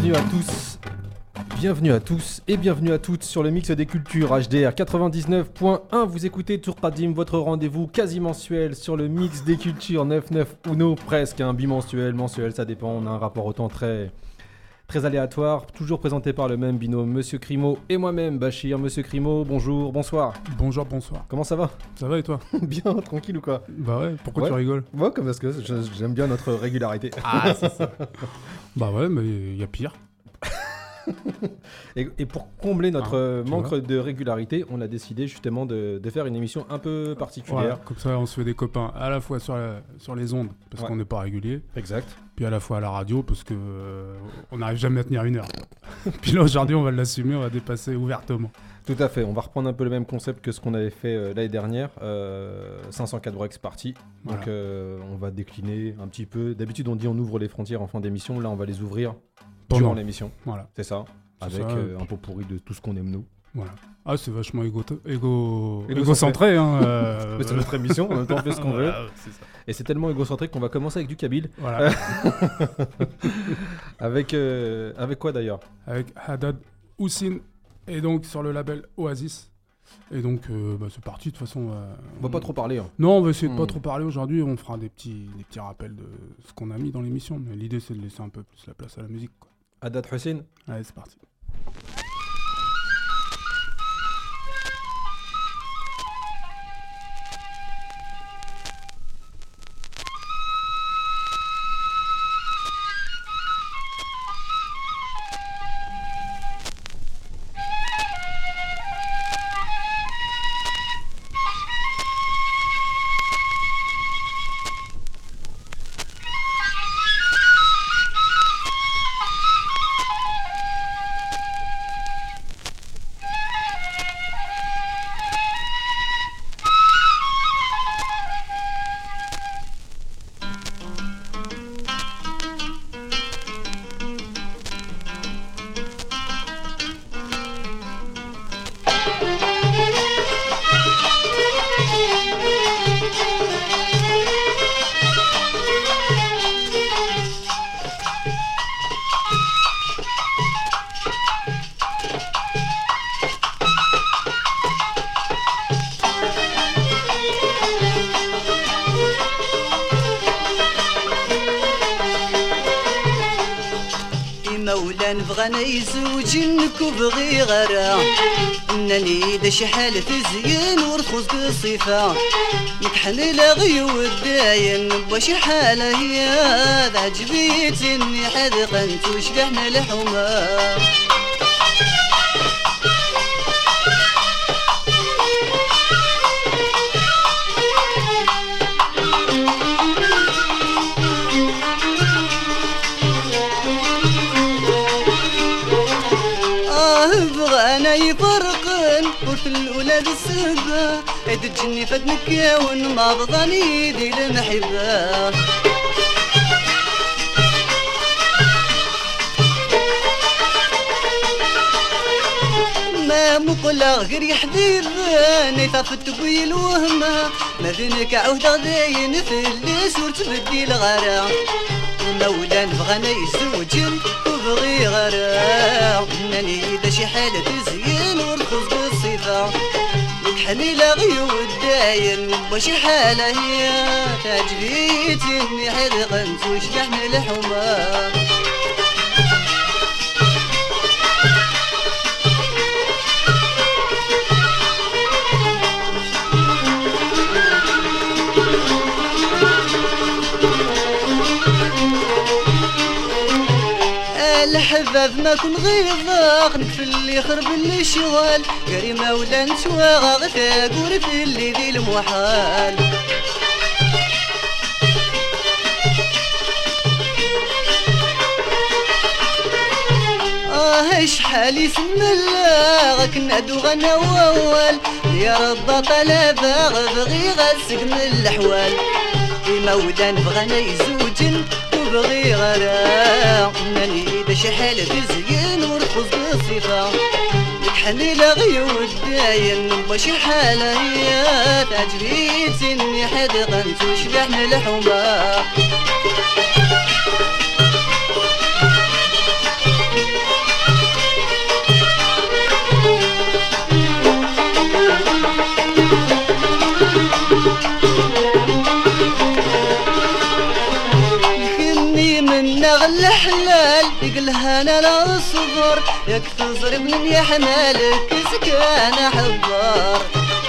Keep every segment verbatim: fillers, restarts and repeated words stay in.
bienvenue à tous. Bienvenue à tous et bienvenue à toutes sur le mix des cultures H D R quatre-vingt-dix-neuf point un. Vous écoutez Tour Qadim, votre rendez-vous quasi mensuel sur le mix des cultures neuf neuf Uno, presque un bimensuel, mensuel, ça dépend. On a un rapport au temps très, très aléatoire, toujours présenté par le même binôme, Monsieur Crimo et moi-même, Bachir. Monsieur Crimo, bonjour, bonsoir. Bonjour, bonsour. Comment ça va? Ça va et toi? Bien, tranquille ou quoi? Bah ouais, pourquoi ouais. tu rigoles? Ouais, comme parce que j'aime bien notre régularité. Ah, c'est ça. Bah ouais, mais il y a pire. et, et pour combler notre ah, manque vois. de régularité, on a décidé justement de, de faire une émission un peu particulière. Voilà, comme ça, on se fait des copains à la fois sur, la, sur les ondes, parce ouais. qu'on n'est pas régulier. Exact. Puis à la fois à la radio, parce qu'on euh, n'arrive jamais à tenir une heure. Puis là, aujourd'hui, on va l'assumer, on va dépasser ouvertement. Tout à fait, on va reprendre un peu le même concept que ce qu'on avait fait euh, l'année dernière. Euh, cinq cent quatre breaks party. Voilà. Donc euh, on va décliner un petit peu. D'habitude, on dit on ouvre les frontières en fin d'émission. Là, on va les ouvrir Pendant. durant l'émission. Voilà. C'est ça. C'est avec ça, euh, un pot pourri de tout ce qu'on aime nous. Voilà. Ah, c'est vachement égo- égo- égocentré. égocentré. Hein, euh... Mais c'est notre émission, en même temps on fait ce qu'on veut. Voilà, c'est ça. Et c'est tellement égocentrique qu'on va commencer avec du Kabyle. Voilà. avec, euh, avec quoi d'ailleurs? Avec Haddad Houssine, et donc sur le label Oasis. Et donc, euh, bah, c'est parti, de toute façon. Euh, on va on... pas trop parler. Hein. Non, on va essayer de mmh. pas trop parler aujourd'hui. On fera des petits, des petits rappels de ce qu'on a mis dans l'émission. Mais l'idée, c'est de laisser un peu plus la place à la musique, quoi. Haddad Houssine. Allez, c'est parti. بغانا يزوجنك وبغي غرا انني دا شي حالة تزين ورخص بالصفة نتحمل غيو الداين بشي حالة هي عجبيتني حذقا وشبحنا الحمى بغانا يفرقن قلت الأولى بالسبة عيد الجني فدنك وما بضاني دي المحبة ما مقلع غير يحذير نيطافت بوي الوهمة ما بينك عود غداين في اللي صورت بدي الغرا مولا بغانا يزوجن وبغي غرا انني دا شي حالة تزين ورخص بالصفة نتحمل غيو الداين وشي حالة هي تعجبيتني حذقا وشبحنا الحمى الحباب ما كن غيظاق نكفل اللي يخرب اللي شغال كريمة ولا نتواغا غتاقور في اللي ذي المحال آه شحال يسمى الله كنادو غنا ووال يا رب طلبا بغي غاسق من الحوال مولا بغانا يزوجن وبغي غرا انني دا شي حالة تزين ورخص بالصفة نتحمل غيو الداين وشي حالة هي تعجبيتني حدقا وشبحنا الحمى وانا لا الصبر ياك تزربني يا حمالك سكان حضر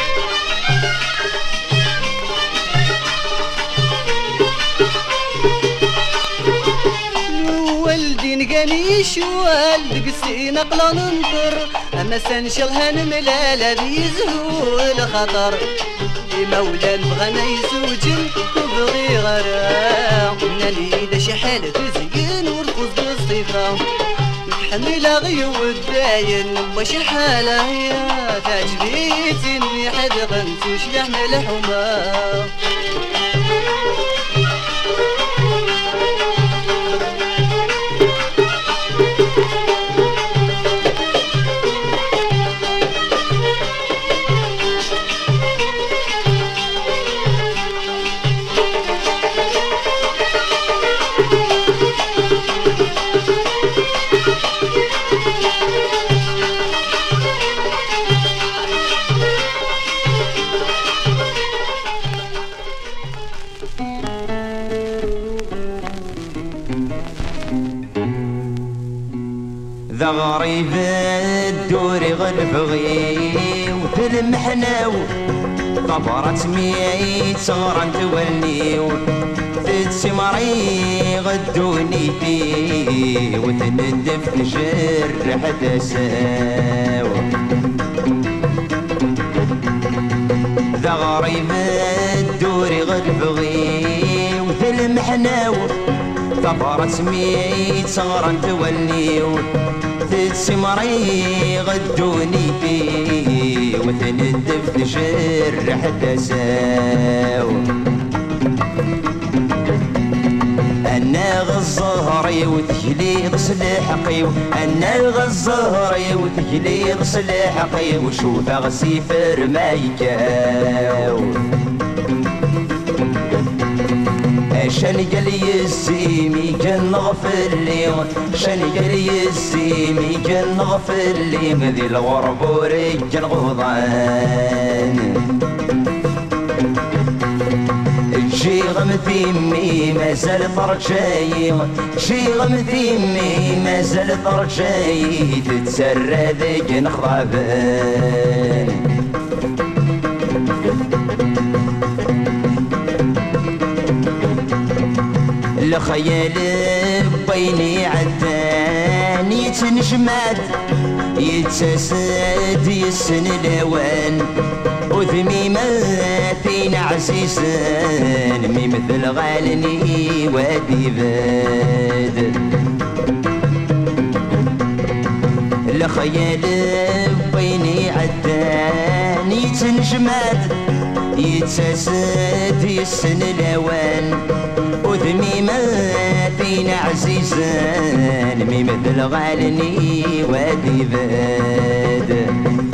والدي نقاني شوال دقسي نقلا ننطر اما سنشلها نملالة بيزهو الخطر مولان بغانا يزوجن وبغي غرام ناني دا شي حالة تزين ورفض بالصفة حميلة غيو الداين واش حالة هي تعجبيتي اني حد غنتوش يحمل حما ذا غريب الدوري غلفغي وتلمحناو طبرت ميت غران توليو تتسمري غدوني فيه وتندف نجرح دساو ذا غريب الدوري غلفغي وتلمحناو طبرت ميت غران توليو تتسمري غدوني فيه وتندف نجرح دساو انا غزهري وتجليد سلاحقي انا غزهري وتجليد سلاحقي وشوف غسيفر ما يكاو شن قال يسيمي كان نغفر لي شن قال يسيمي كان نغفر لي ذي الغرب ورجال غضان شي غمثيمي مازال طرشاي شي غمثيمي مازال طرشاي تتسرى ذيك نخضابان الخيال بيني عدان يتنجمد يتساسد يسن الاوان وثميماتين عزيزان مي مثل غالني وادي باد الخيال بيني عدان يتنجمد يتساسد يسن الاوان وثميماتين عزيزان مي مثل غالني وادي باد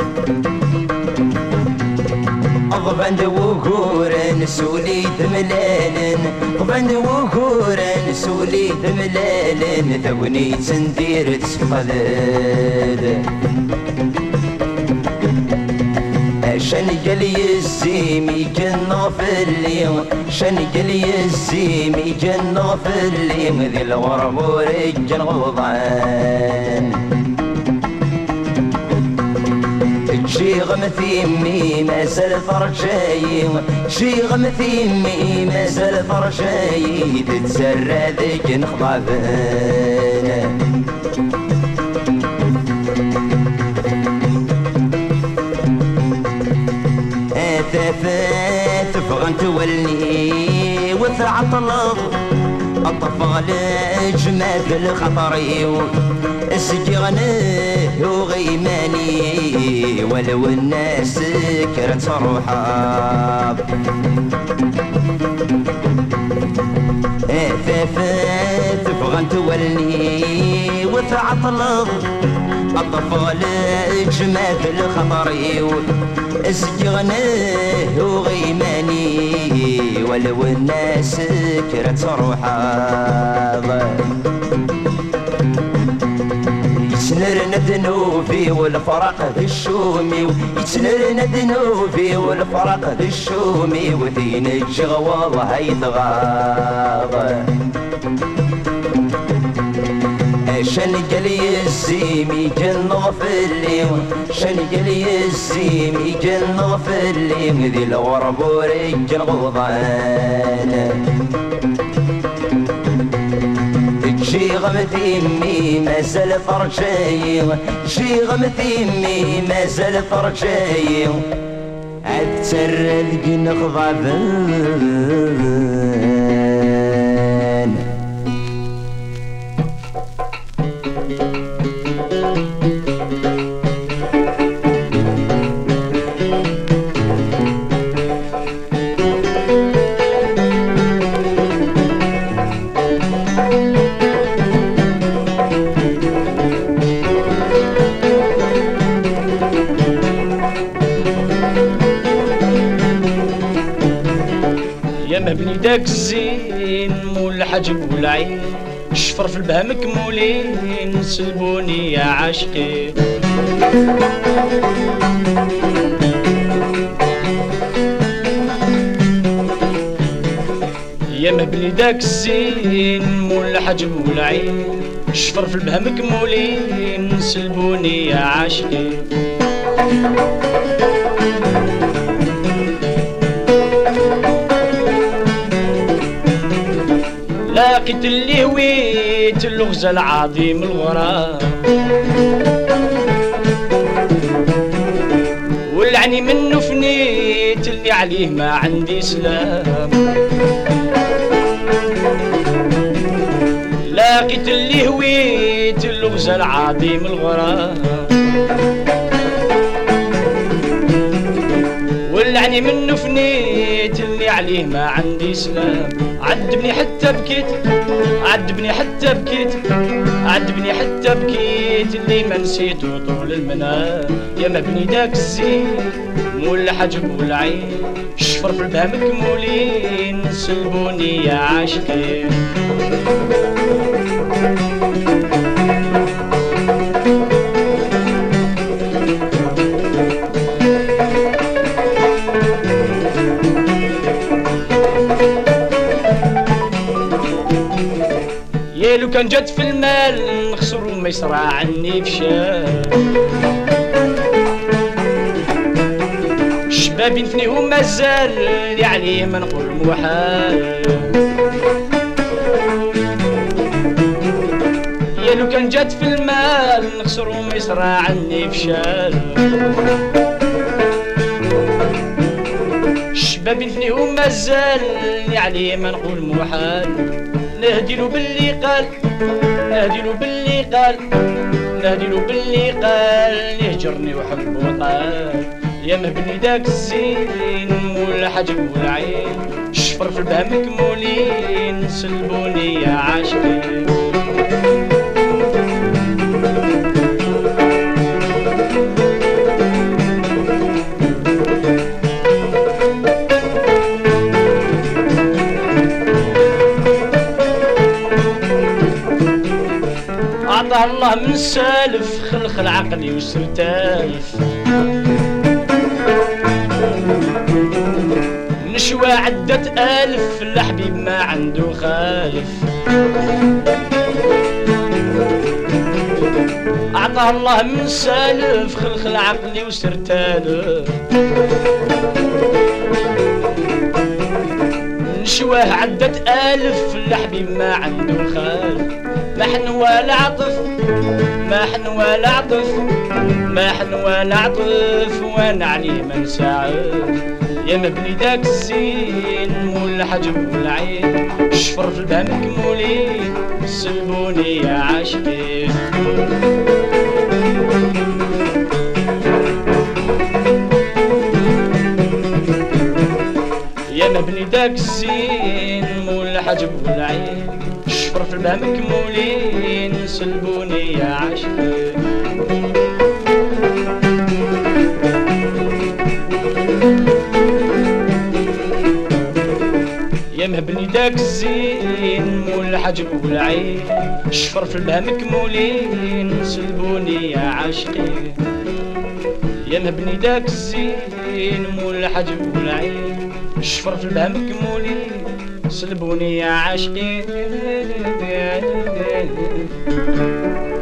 غبند وكورن سولي ثملالن غبند وكورن سولي ثملالن ثوني تندير تسقلد شن قال يزيمي كان نغفر لي شن قال يزيمي كان نغفر لي ذي الغرب ورجال غضان شي غمثيمي مازال فرجاي شي غمثيمي مازال فرجاي تتسرى ذيك نخضابان ثافات فغن تولي وثعطلض الطفغ لجماد الخطري اسجغنه وغيماني ولو الناس كرت روحاب ثافات فغن تولي وثعطلض الطفغ لجماد الخطري اسجغناه وغيماني ولو الناس كرت روحاض يتنرنا ذنوبي والفرق ذي الشومي يتنرنا ذنوبي والفرق ذي الشومي وذين الجغوى هيتغاض شن قال يزيم يجن غفلي شن قال يزيم يجن غفلي ذي الغرب ورجل غضان شي غمتي امي ما زال فرجاي شي غمتي امي ما زال فرجاي عاد ترلق نغضبان مبني داك الزين مول الحجب والعين شفر في البهم كمولين سلبوني يا عاشقين يا مبني داك الزين مول الحجب والعين شفر في البهم كمولين سلبوني يا عاشقين لاقيت اللي هويت اللغز العظيم الغرام والعني منه فنيت اللي عليه ما عندي سلام لاقيت اللي هويت اللغز العظيم الغرام والعني منه فنيت اللي عليه ما عندي سلام عذبني حتى بكيت عذبني حتى بكيت عذبني حتى بكيت اللي ما نسيته طول المنام يا مبني داك الزين مول الحجب والعين شفر في البهم كمولين سلبوني يا عاشقين لو كان جات في المال نخسر وما يسرع عني بشال شبابي نفنيهم مازال اللي عليه ما نقول محال يا لو كان جات في المال نخسر وما يسرع عني بشال شبابي نفنيهم مازال اللي عليه ما نقول محال نهديلو باللي قال نهديلو باللي قال نهديلو باللي قال يهجرني وحب وطال يا مبني داك الزين مول الحجب والعين شفر في البهم كمولين سلبوني يا عاشقين عطاه الله من السالف خلخل عقلي وسرتالف نشوى عدة ألف الحبيب ما عنده خالف عطاه الله من السالف خلخل عقلي وسرتالف نشواه عدة ألف الحبيب ما عنده خالف ما حن ولا عطف ما حن ولا عطف ما حن ولا عطف وانا عليه ما نساعد يا مبني داك الزين مول الحجب والعين شفر في البهم كمولين سلبوني يا عاشقين يا مبني داك الزين مول الحجب والعين شفر في البهم كمولين سلبوني يا عاشقين يا مهبني داك الزين مول الحجب والعين شفر في البهم كمولين سلبوني يا عاشقين يا مهبني داك الزين مول الحجب والعين شفر في البهم كمولين سلبوني يا عاشقين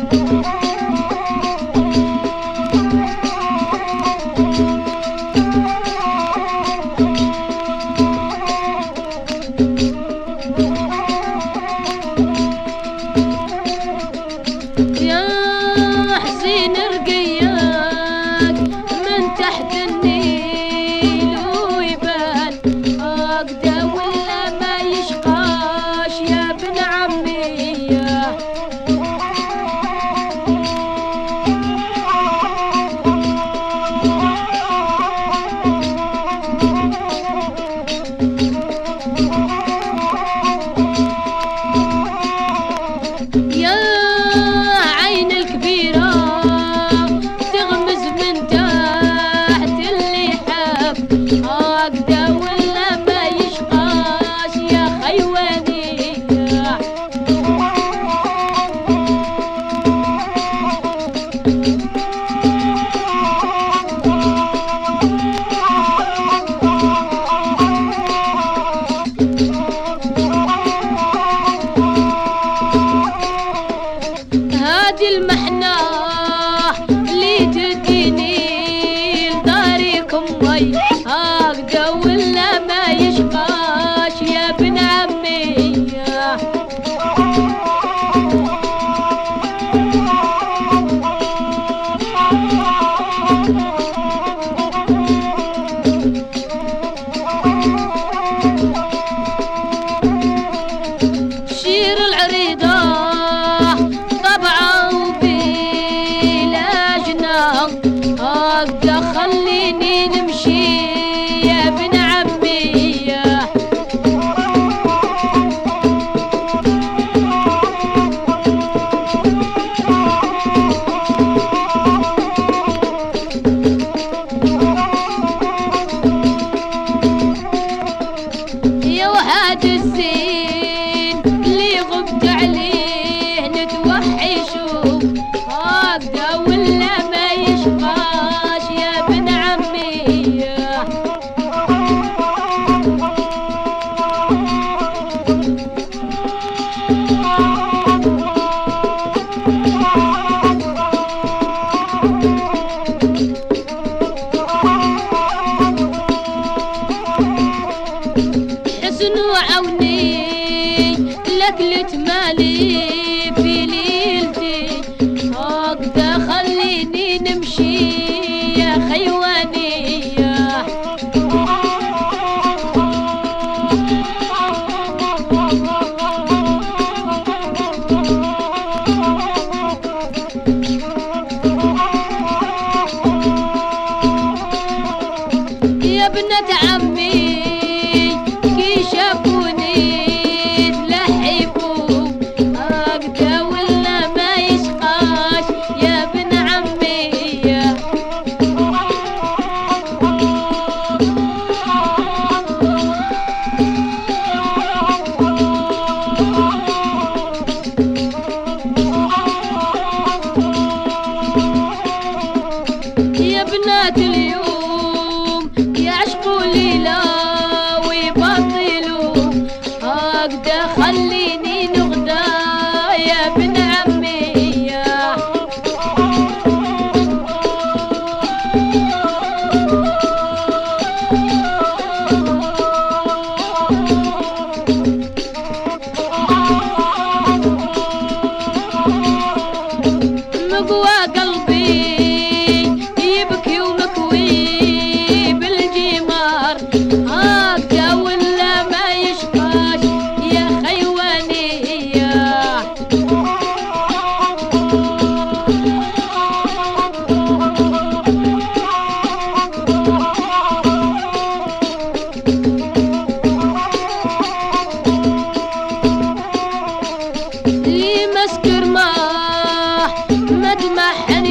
مسكر ما مدمح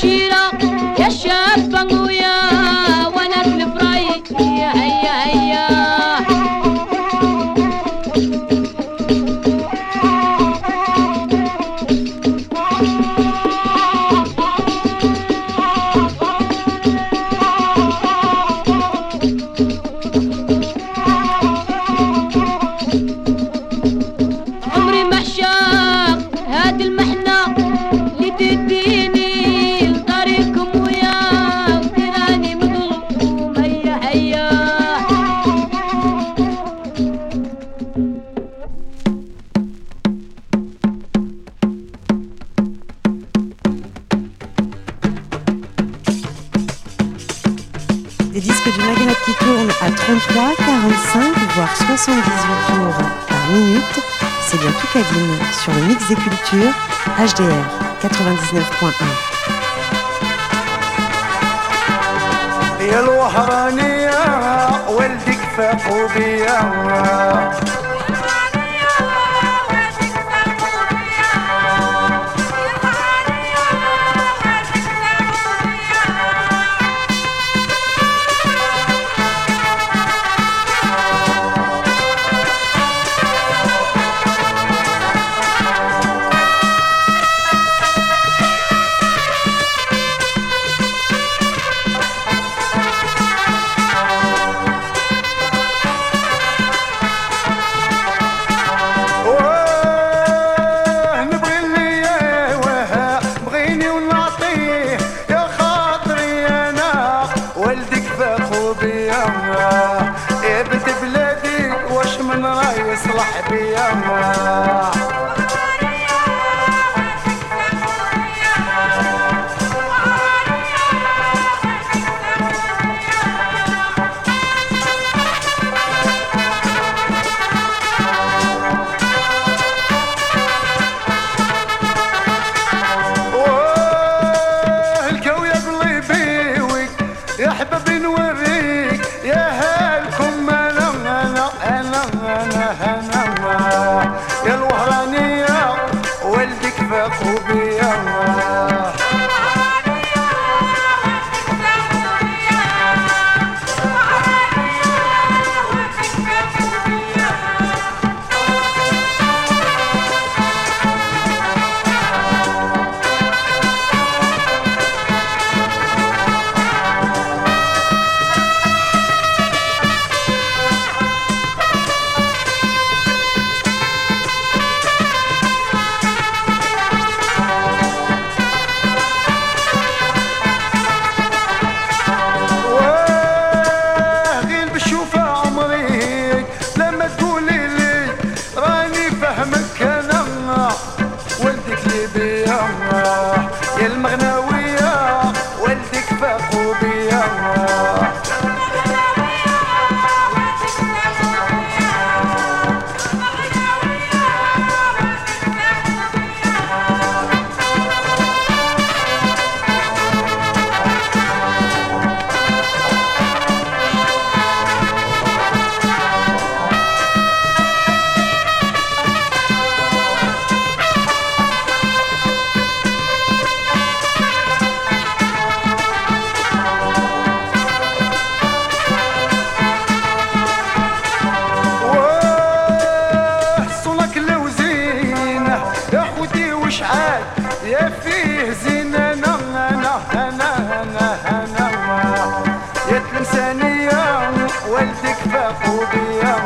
الشيرة يا شابة ويا وانا الفراي هيا هيا هيا عمري ما عشاق هاد المحنة اللي تديني لطريقكم ويا وتراني مظلوم هيا هيا Des disques du Maghreb qui tournent à trente-trois, quarante-cinq, voire soixante-dix-huit tours par minute. C'est bien tout Kadim sur le mix des cultures H D R quatre-vingt-dix-neuf point un. يا الوهرانية ولدك فاقوا بيا يصلح بيا الكو يا قلبي ويك يا حبابي نوريك يا هالكم انا انا انا انا انا يا الوهرانية ولدك فاقوا بيا يا المغناوية ولدك فاقوا بيا يا فيه زينة انا انا انا انا انا يا تلمسانية ولدك فاقوا بيا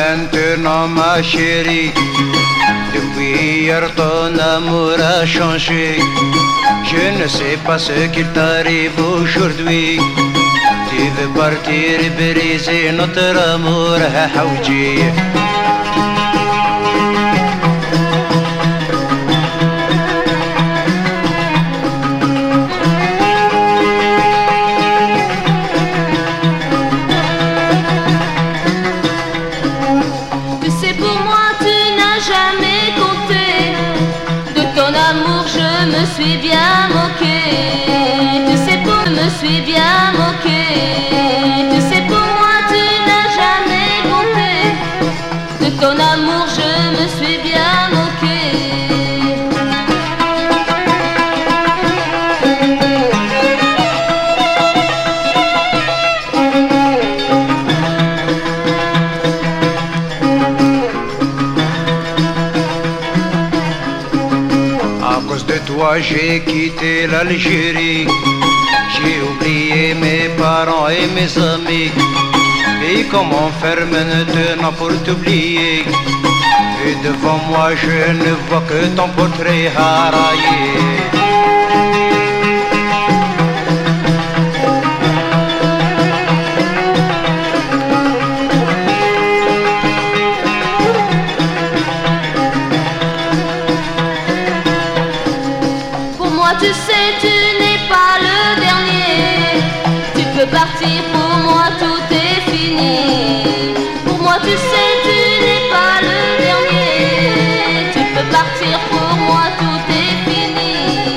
maintenant ma chérie. Depuis hier ton amour a changé. Je ne sais pas ce qu'il t'arrive aujourd'hui. Tu veux partir et briser notre amour, Haouji. Je me suis bien moqué, tu sais pour me suis bien moqué, tu sais pour moi tu n'as jamais compté, de ton amour je me suis bien moqué. Toi j'ai quitté l'Algérie, j'ai oublié mes parents et mes amis. Et comment faire maintenant pour t'oublier? Et devant moi je ne vois que ton portrait haraillé. Tu sais, tu n'es pas le dernier. Tu peux partir, pour moi tout est fini. Pour moi, tu sais, tu n'es pas le dernier. Tu peux partir, pour moi tout est fini.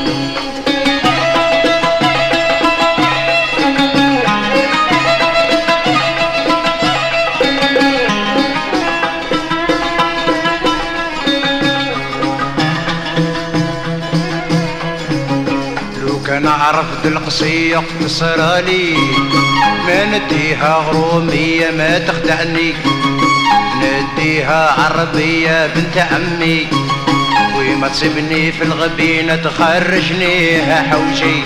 كان عرف القصية قتصرالي ما نديها غرومية ما تخدعني نديها عربية بنت عمي وما تسيبني في الغبينة تخرجني حوجي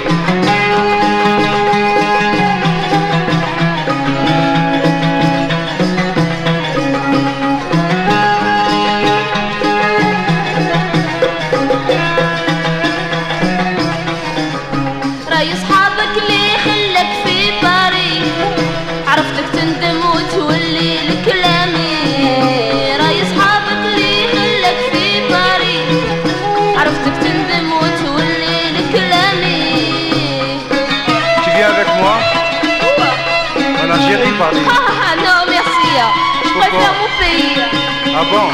Ah non merci, je préfère mon pays. Ah bon?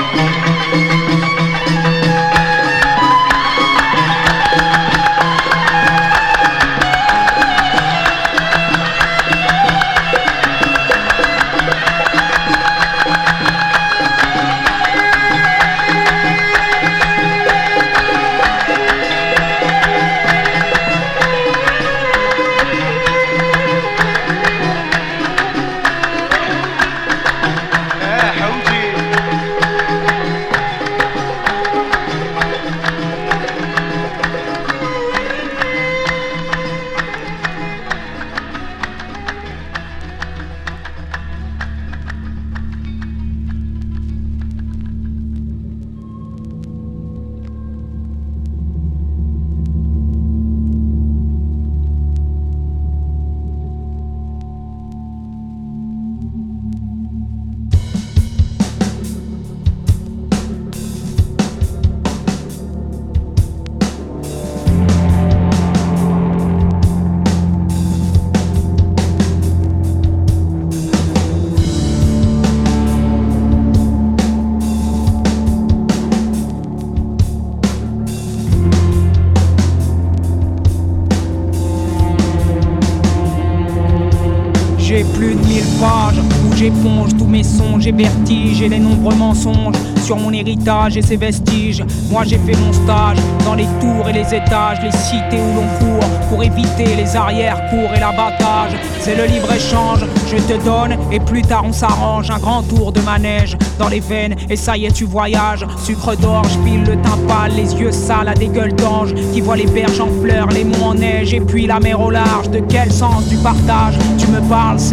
J'éponge tous mes songes et vertiges et les nombreux mensonges sur mon héritage et ses vestiges. Moi j'ai fait mon stage dans les tours et les étages, les cités où l'on court pour éviter les arrière-cours et l'abattage. C'est le libre-échange, je te donne et plus tard on s'arrange. Un grand tour de manège dans les veines et ça y est tu voyages. Sucre d'orge, pile le teint pâle, les yeux sales à des gueules d'ange qui voient les berges en fleurs, les monts en neige et puis la mer au large. De quel sens du partage tu me parles? C'est le lieu du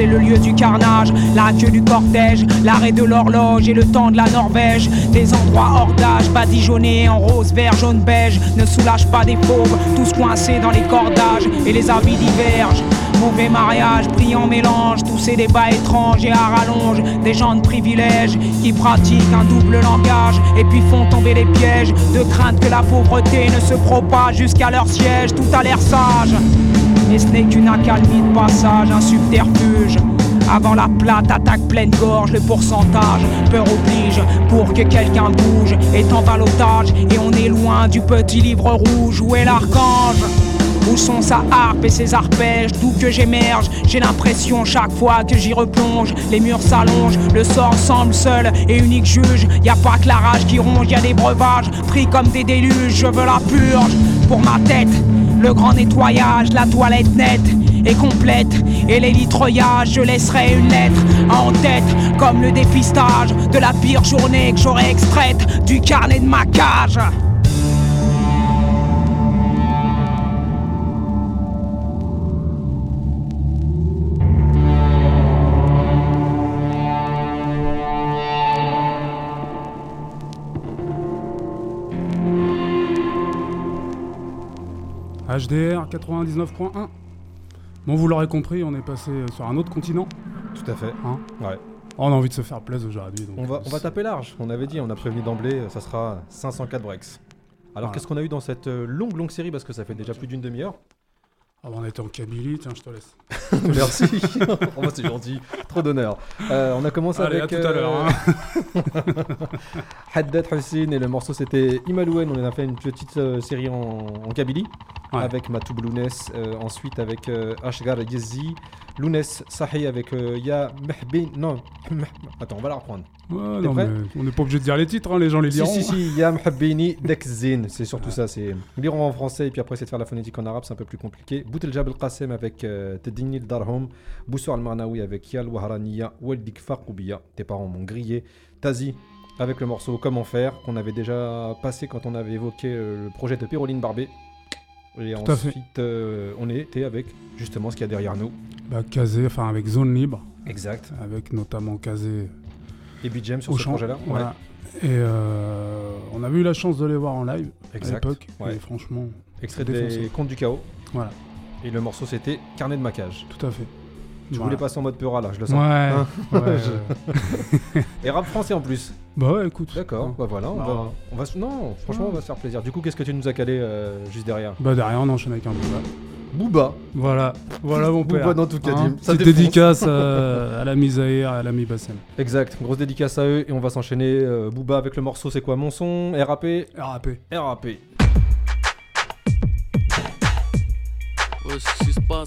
du carnage, la queue du cortège, l'arrêt de l'horloge et le temps de la Norvège. Des endroits hors d'âge, badigeonnés en rose, vert, jaune, beige, ne soulagent pas des fauves, tous coincés dans les cordages et les habits divergent. Mauvais mariage, brillant mélange, tous ces débats étranges et à rallonge. Des gens de privilèges qui pratiquent un double langage et puis font tomber les pièges de crainte que la pauvreté ne se propage jusqu'à leur siège. Tout a l'air sage, et ce n'est qu'une accalmie de passage, un subterfuge. Avant la plate attaque pleine gorge, le pourcentage peur oblige pour que quelqu'un bouge est en ballottage et on est loin du petit livre rouge. Où est l'archange? Où sont sa harpe et ses arpèges? D'où que j'émerge, j'ai l'impression chaque fois que j'y replonge. Les murs s'allongent, le sort semble seul et unique juge. Y a pas que la rage qui ronge, y a des breuvages pris comme des déluges. Je veux la purge pour ma tête, le grand nettoyage, la toilette nette et complète. Et les litreuillages, je laisserai une lettre en tête, comme le dépistage de la pire journée que j'aurais extraite du carnet de ma cage. H D R quatre-vingt-dix-neuf point un. Bon, vous l'aurez compris, on est passé sur un autre continent. Tout à fait. Hein ouais. On a envie de se faire plaisir aujourd'hui. Donc on, va, on va taper large. On avait dit, on a prévenu d'emblée, ça sera cinq cent quatre breaks. Alors voilà. Qu'est-ce qu'on a eu dans cette longue, longue série? Parce que ça fait déjà plus d'une demi-heure. Ah bah on était en Kabylie, tiens, je te laisse. Merci. Oh, bah, c'est gentil, trop d'honneur. Euh, on a commencé Allez, avec. À tout à l'heure. Hein. Haddad Hussein et le morceau c'était Imalouen. On a fait une petite euh, série en, en Kabylie ouais. avec Matou Blounes. Euh, ensuite avec euh, Ashgar Yezi, Lounes Sahi avec euh, Ya Mehbin. Non, attends, on va la reprendre. Ouais, non, mais on n'est pas obligé de dire les titres, hein, les gens les liront. Si, si, si, Ya Mehbini Dekzin, c'est surtout ouais. ça. C'est liront en français et puis après c'est de faire la phonétique en arabe, c'est un peu plus compliqué. Boutel Jabel Qassem avec euh, Tedini Darhom, Boussou Al-Marnaoui avec Yal Waharaniya, Waldik Faqoubiya, tes parents m'ont grillé, Tazi avec le morceau Comment faire, qu'on avait déjà passé quand on avait évoqué euh, le projet de Péroline Barbé. Et tout ensuite, euh, on était avec justement ce qu'il y a derrière nous. Bah, Kazé, enfin avec Zone Libre. Exact. Avec notamment Kazé. Et B J M sur ce champ, projet-là. Voilà. Ouais. Et euh, on avait eu la chance de les voir en live exact. À l'époque. Ouais. Et franchement. Extrait des Contes du Chaos. Voilà. Et le morceau c'était Carnet de maquage. Tout à fait. Je voilà. voulais passer en mode Peura là, je le sens. Ouais. Hein ouais, ouais. Et rap français en plus. Bah ouais, écoute. D'accord. Ouais. Bah voilà, on bah, va, on va, non, franchement, ouais. on va se faire plaisir. Du coup, qu'est-ce que tu nous as calé euh, juste derrière? Bah derrière, on enchaîne avec un Booba. Booba. Voilà, voilà mon père. Booba dans tout cas. Hein, c'est dédicace à, à la Misaïr et à l'ami Bassem. Exact. Grosse dédicace à eux et on va s'enchaîner. Euh, Booba avec le morceau, c'est quoi mon son? R A P. R A P. R A P. Ouais, ce qui se passe.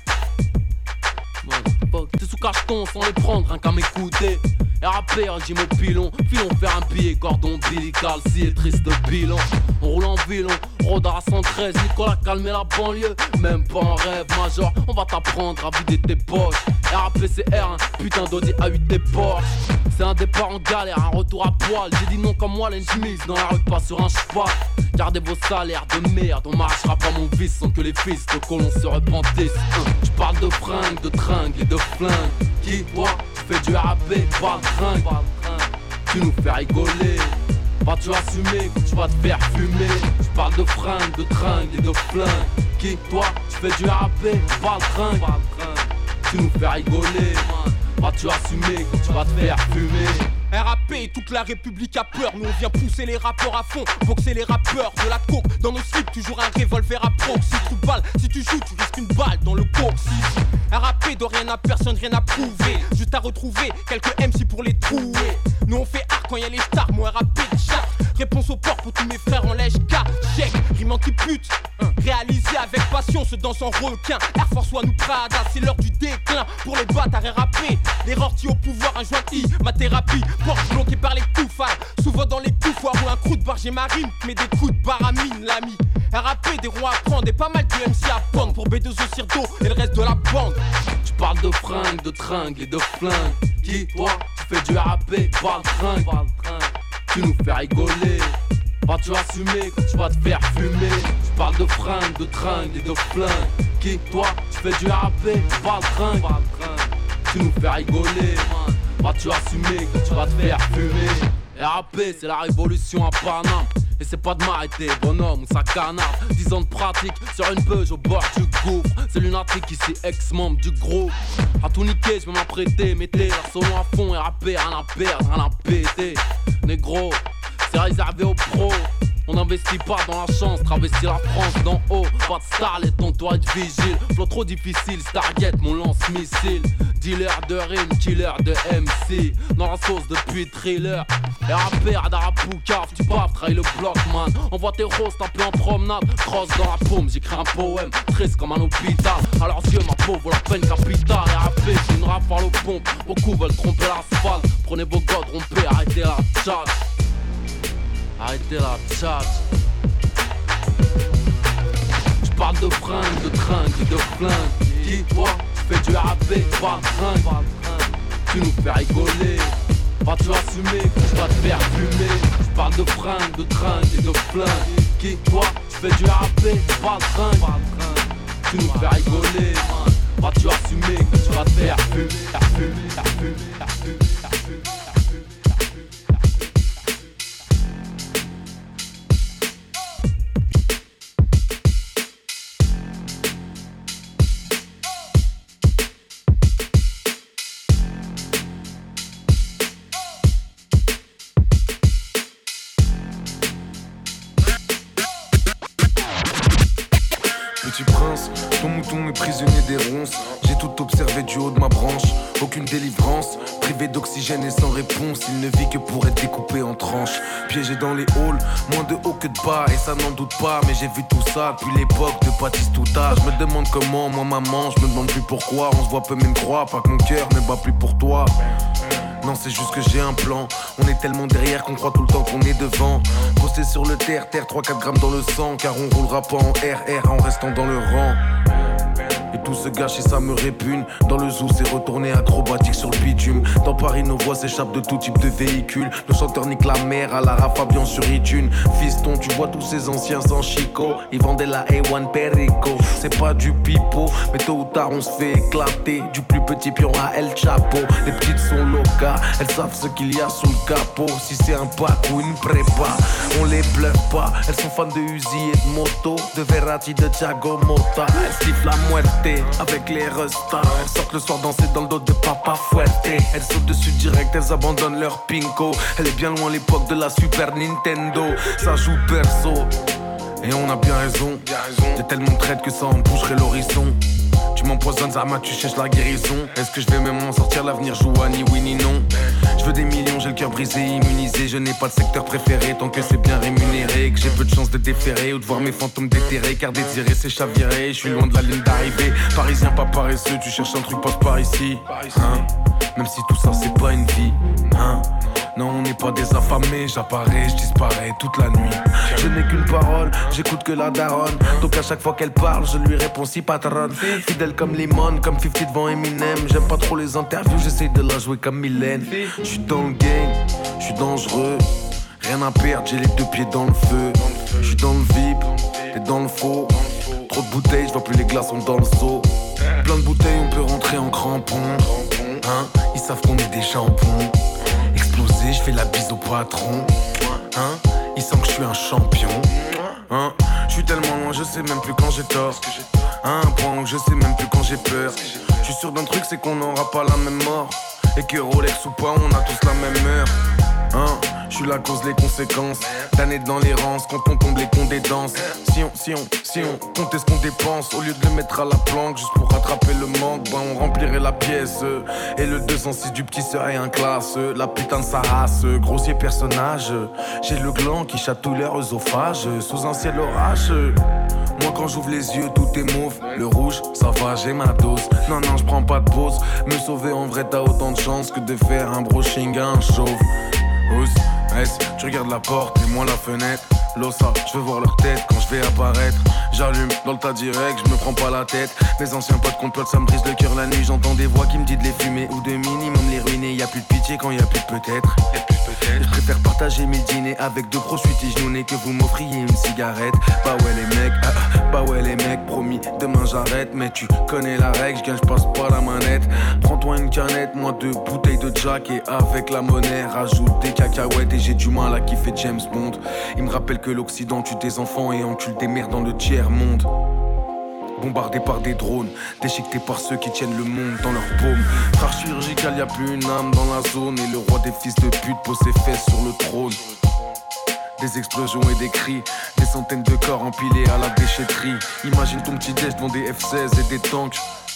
T'es sous cacheton sans les prendre, rien qu'à m'écouter. R A P, j'ai mon pilon, filon faire un billet, cordon ombilical, si est triste bilan. On roule en violon, Rodar à cent treize, Nicolas calmer la banlieue, même pas en rêve major, on va t'apprendre à vider tes poches. R A P c'est R, un putain d'Audi A huit des Porsche. C'est un départ en galère, un retour à poil. J'ai dit non comme moi, l'ennemi dans la rue, pas sur un cheval. Gardez vos salaires de merde, on m'arrachera pas mon vice sans que les fils de colons se repentissent. Je parle de fringues, de tringues et de flingues. Qui, toi, tu fais du R A P, pas de tringue. Tu nous fais rigoler. Vas-tu assumer quand tu vas te faire fumer? Je parle de fringues, de tringues et de flingues. Qui, toi, tu fais du R A P, pas de tringue. Tu nous fais rigoler. Vas-tu assumer quand tu vas te faire fumer? R A P, toute la République a peur. Nous on vient pousser les rappeurs à fond, boxer les rappeurs, de la coke dans nos slips, toujours un revolver à proxy. Trou de balle, si tu joues, tu risques une balle dans le coccyx. R A P de rien à personne, rien à prouver. Juste à retrouver quelques M C pour les trouver. Nous on fait art quand y'a les stars, moi R A P de charte. Réponse au port pour tous mes frères en lèche K. Chèque, rime anti-pute, réalisé avec passion, se danse en requin. Air Force One ou Prada, c'est l'heure du déclin. Pour les bâtards R A P, les rortis au pouvoir, un joint I, ma thérapie. Porte bloquée par les coufards, souvent dans les coufoirs ou un crew de barge et marine, mais des coups de baramine, l'ami. R A P, des ronds à prendre et pas mal de M C à prendre pour B deux O Cirdo et le reste de la bande. Tu parles de fringues, de tringues et de flingues. Qui, toi, tu fais du R A P, pas de tringue. Tu nous fais rigoler. Vas-tu assumer quand tu vas te faire fumer? Tu parles de fringues, de tringues et de flingues. Qui, toi, tu fais du R A P, pas de tringue. tu nous fais rigoler, man. Vas-tu assumer que tu vas te faire fumer? R A P c'est la révolution à Paname. Et c'est pas de m'arrêter, bonhomme ou ça canard. Dix ans de pratique sur une peuge au bord du gouffre. C'est lunatique ici, ex-membre du groupe. À tout niquer, je vais m'apprêter. Mettez la solo à fond, R A P, rien à perdre, rien à péter. Négro, c'est réservé aux pros. On n'investit pas dans la chance, travestit la France d'en haut. Pas de starlet, ton toit est vigile. Flow trop difficile, Stargate, mon lance-missile. Dealer de rime, killer de M C. Dans la sauce depuis thriller. R A P, radar à Poucave, tu baves, trahis le bloc, man. Envoie tes roses, taper en promenade. Crosse dans la paume, j'écris un poème. Triste comme un hôpital. À leurs yeux, ma peau vaut la peine capitale. R A P, c'est une rafale aux pompes. Beaucoup veulent tromper l'asphalte. Prenez vos godes, rompez, arrêtez la chat. Arrêtez la tchatch. J'parle de fringues, de tringues et de flingues. Qui toi, tu fais du R A P, pas de fringues. Tu nous fais rigoler. Vas-tu assumer que tu vas te faire fumer? J'parle de fringues, de tringues et de flingues. Qui toi, tu fais du R A P, pas de fringues. Tu nous fais rigoler. Vas-tu assumer que tu vas te faire fumer? Faire fumer, faire fumer, faire fumer, faire fumer. Petit prince, ton mouton est prisonnier des ronces. J'ai tout observé du haut de ma branche. Aucune délivrance, privé d'oxygène et sans réponse. Il ne vit que pour être découpé en tranches. Piégé dans les halls, moins de haut que de bas. Et ça n'en doute pas, mais j'ai vu tout ça depuis l'époque de Baptiste-Touta. Je me demande comment, moi maman, je me demande plus pourquoi. On se voit peu même croire, pas que mon cœur ne bat plus pour toi. Non, c'est juste que j'ai un plan. On est tellement derrière qu'on croit tout le temps qu'on est devant. Posté sur le terre, terre, trois quatre grammes dans le sang. Car on roulera pas en R R en restant dans le rang. Et tout se gâche et ça me répugne. Dans le zoo c'est retourné acrobatique sur le bitume. Dans Paris nos voix s'échappent de tout type de véhicule. Nos chanteurs niquent la mer à la Fabian sur iTunes. Fiston tu vois tous ces anciens sans chico. Ils vendaient la A un Perico. C'est pas du pipeau, mais tôt ou tard on se fait éclater. Du plus petit pion à El Chapo. Les petites sont locas, elles savent ce qu'il y a sous le capot. Si c'est un pack ou une prépa, on les bluffe pas. Elles sont fans de Uzi et de moto, de Verratti, de Thiago Motta. Elles sifflent la muerte avec les restas. Elles sortent le soir danser dans le dos de Papa Fuerte. Elles sautent dessus direct, elles abandonnent leur pinko. Elle est bien loin l'époque de la Super Nintendo. Ça joue perso et on a bien raison. T'es tellement traite que ça en boucherait l'horizon. Tu m'empoisonnes, Zama, tu cherches la guérison. Est-ce que je vais même m'en sortir? L'avenir joue à ni oui ni non. Je veux des millions, j'ai le cœur brisé, immunisé. Je n'ai pas de secteur préféré tant que c'est bien rémunéré. Que j'ai peu de chance de déférer ou de voir mes fantômes déterrés. Car désirer c'est chavirer, je suis loin de la ligne d'arrivée. Parisien pas paresseux, tu cherches un truc, passe par ici, hein? Même si tout ça c'est pas une vie, hein? Non, on n'est pas des affamés, j'apparais, je disparais toute la nuit. Je n'ai qu'une parole, j'écoute que la daronne. Donc à chaque fois qu'elle parle, je lui réponds si patronne. Fidèle comme Limon, comme cinquante devant Eminem. J'aime pas trop les interviews, j'essaye de la jouer comme Mylène. J'suis dans le game, j'suis dangereux. Rien à perdre, j'ai les deux pieds dans le feu. J'suis dans le V I P, t'es dans le faux. Trop de bouteilles, j'vois plus les glaçons dans le seau. Plein de bouteilles, on peut rentrer en crampon, hein? Ils savent qu'on est des jambons. Explosé, je fais la bise au patron, hein? Ils sentent que je suis un champion, hein? Je suis tellement loin, je sais même plus quand j'ai tort. À un point où je sais même plus quand j'ai peur. Je suis sûr d'un truc, c'est qu'on n'aura pas la même mort. Et que Rolex ou pas, on a tous la même heure, hein? Je suis la cause, les conséquences d'années dans l'errance, quand on tombe les cons des danses. Si on, si on, si on comptait ce qu'on dépense, au lieu de le mettre à la planque, juste pour rattraper le manque, bah on remplirait la pièce. Et le deux cent six du petit serait un classe. La putain de sa race, grossier personnage. J'ai le gland qui chatouille leur œsophage, sous un ciel orage. Moi quand j'ouvre les yeux tout est mauve. Le rouge ça va j'ai ma dose. Non non je prends pas de pause. Me sauver en vrai t'as autant de chance que de faire un brushing à un chauve. Ous, S, tu regardes la porte et moi la fenêtre. Losa, je veux voir leur tête quand je vais apparaître. J'allume dans le tas direct, je me prends pas la tête. Mes anciens potes complotent, ça me brise le cœur la nuit. J'entends des voix qui me disent de les fumer ou de minimum les ruiner. Y'a plus de pitié quand y'a plus de peut-être. Je préfère partager mes dîners avec deux pros suites genoux que vous m'offriez une cigarette. Bah ouais les mecs, ah, bah ouais les mecs, promis, demain j'arrête. Mais tu connais la règle, je gagne, je passe pas la manette. Prends-toi une canette, moi deux bouteilles de Jack. Et avec la monnaie, rajoute des cacahuètes. Et j'ai du mal à kiffer James Bond. Il me rappelle que l'Occident tue des enfants et encule des mères dans le tiers-monde. Bombardé par des drones, déchiqueté par ceux qui tiennent le monde dans leur paume. Frère chirurgical, y'a plus une âme dans la zone. Et le roi des fils de pute pose ses fesses sur le trône. Des explosions et des cris, des centaines de corps empilés à la déchetterie. Imagine ton petit déj devant des F seize et des tanks.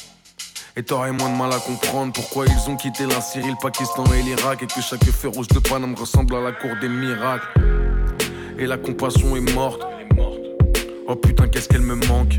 Et t'aurais moins de mal à comprendre pourquoi ils ont quitté la Syrie, le Pakistan et l'Irak. Et que chaque feu rouge de Paname ressemble à la cour des miracles. Et la compassion est morte. Oh putain qu'est-ce qu'elle me manque.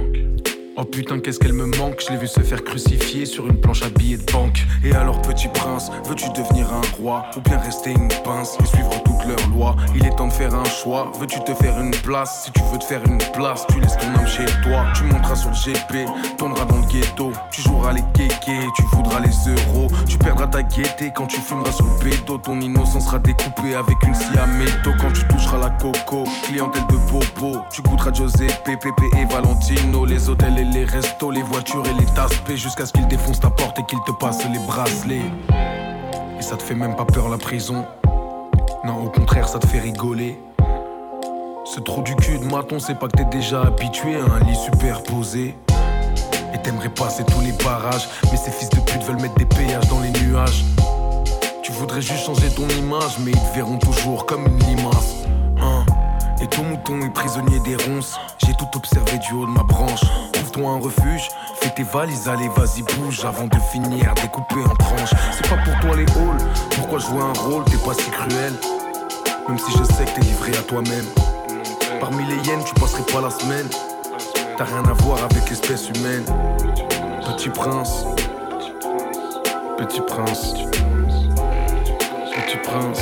Oh putain qu'est-ce qu'elle me manque. Je l'ai vu se faire crucifier sur une planche à billets de banque. Et alors petit prince, veux-tu devenir un roi ou bien rester une pince et suivre toutes leurs lois? Il est temps de faire un choix. Veux-tu te faire une place? Si tu veux te faire une place, tu laisses ton âme chez toi. Tu monteras sur le G P, tourneras dans le ghetto. Tu joueras les kékés, tu voudras les euros. Tu perdras ta gaieté quand tu fumeras sur le bédo. Ton innocence sera découpée avec une scie à métaux. Quand tu toucheras la coco, clientèle de bobo. Tu goûteras Giuseppe, Pépé et Valentino. Les hôtels et les restos, les voitures et les tasses P, jusqu'à ce qu'ils défoncent ta porte et qu'ils te passent les bracelets. Et ça te fait même pas peur la prison. Non, au contraire, ça te fait rigoler. Ce trou du cul de maton, c'est pas que t'es déjà habitué à un lit superposé. Et t'aimerais passer tous les barrages, mais ces fils de pute veulent mettre des péages dans les nuages. Tu voudrais juste changer ton image, mais ils te verront toujours comme une limace. Hein? Et ton mouton est prisonnier des ronces. J'ai tout observé du haut de ma branche. Trouve-toi un refuge, fais tes valises, allez vas-y bouge. Avant de finir découpé en tranches. C'est pas pour toi les halls, pourquoi jouer un rôle, t'es pas si cruel. Même si je sais que t'es livré à toi-même. Parmi les hyènes tu passerais pas la semaine. T'as rien à voir avec l'espèce humaine. Petit prince, petit prince, petit prince.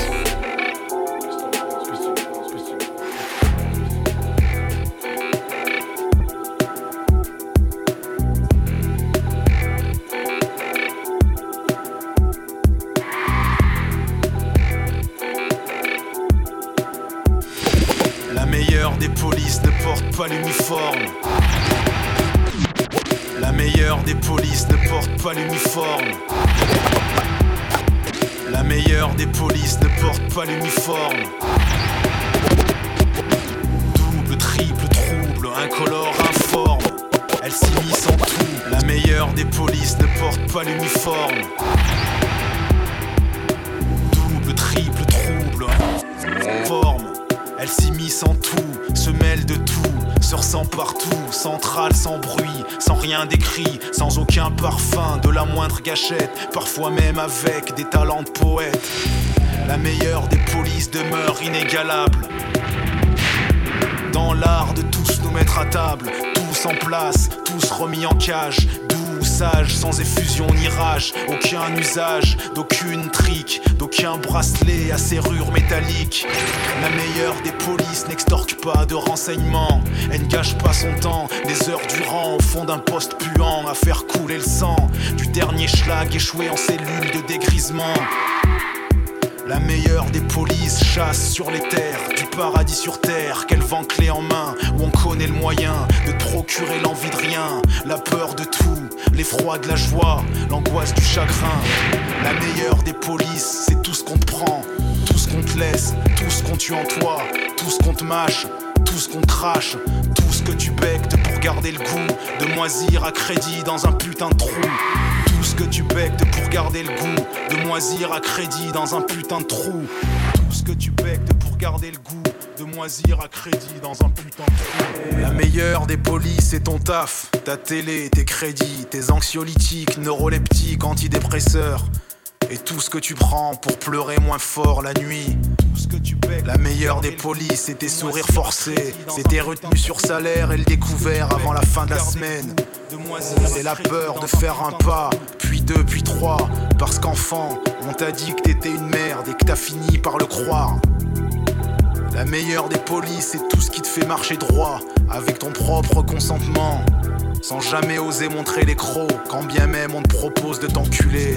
Pas l'uniforme. La meilleure des polices ne porte pas l'uniforme. La meilleure des polices ne porte pas l'uniforme. Double, triple, trouble, incolore, informe. Elle s'immisce en tout. La meilleure des polices ne porte pas l'uniforme. Double, triple, trouble, informe. Elle s'immisce en tout, se mêle de tout, se ressent partout, centrale sans bruit, sans rien d'écrit, sans aucun parfum, de la moindre gâchette, parfois même avec des talents de poète. La meilleure des polices demeure inégalable. Dans l'art de tous nous mettre à table, tous en place, tous remis en cage, doux, sage, sans effusion ni rage, aucun usage, d'aucune trique, d'aucun bracelet à serrure métallique. La meilleure des polices n'extorque pas de renseignements, elle ne gâche pas son temps, des heures durant au fond d'un poste puant à faire couler le sang du dernier schlag échoué en cellule de dégrisement. La meilleure des polices chasse sur les terres, du paradis sur terre, qu'elle vend clé en main, où on connaît le moyen de te procurer l'envie de rien, la peur de tout, l'effroi de la joie, l'angoisse du chagrin. La meilleure des polices, c'est tout ce qu'on te prend, tout ce qu'on te laisse, tout ce qu'on tue en toi, tout ce qu'on te mâche, tout ce qu'on crache, tout ce que tu bectes pour garder le goût de moisir à crédit dans un putain de trou. Tout ce que tu bectes pour garder le goût de moisir à crédit dans un putain de trou. Tout ce que tu bectes pour garder le goût de moisir à crédit dans un putain de trou. La meilleure des polices, c'est ton taf, ta télé, tes crédits, tes anxiolytiques, neuroleptiques, antidépresseurs. Et tout ce que tu prends pour pleurer moins fort la nuit. Tout ce que tu paies. La meilleure des polices, c'est tes sourires forcés, c'est tes retenues sur salaire et le découvert avant la fin de la semaine. C'est la peur de faire un pas, puis deux, puis trois. Parce qu'enfant, on t'a dit que t'étais une merde et que t'as fini par le croire. La meilleure des polices, c'est tout ce qui te fait marcher droit, avec ton propre consentement, sans jamais oser montrer les crocs, quand bien même on te propose de t'enculer.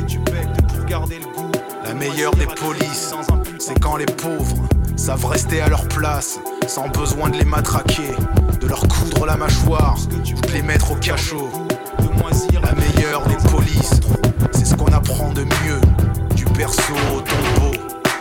La meilleure des polices, c'est quand les pauvres savent rester à leur place, sans besoin de les matraquer, de leur coudre la mâchoire, de les mettre au cachot. La meilleure des polices, c'est ce qu'on apprend de mieux, du perso au tombeau.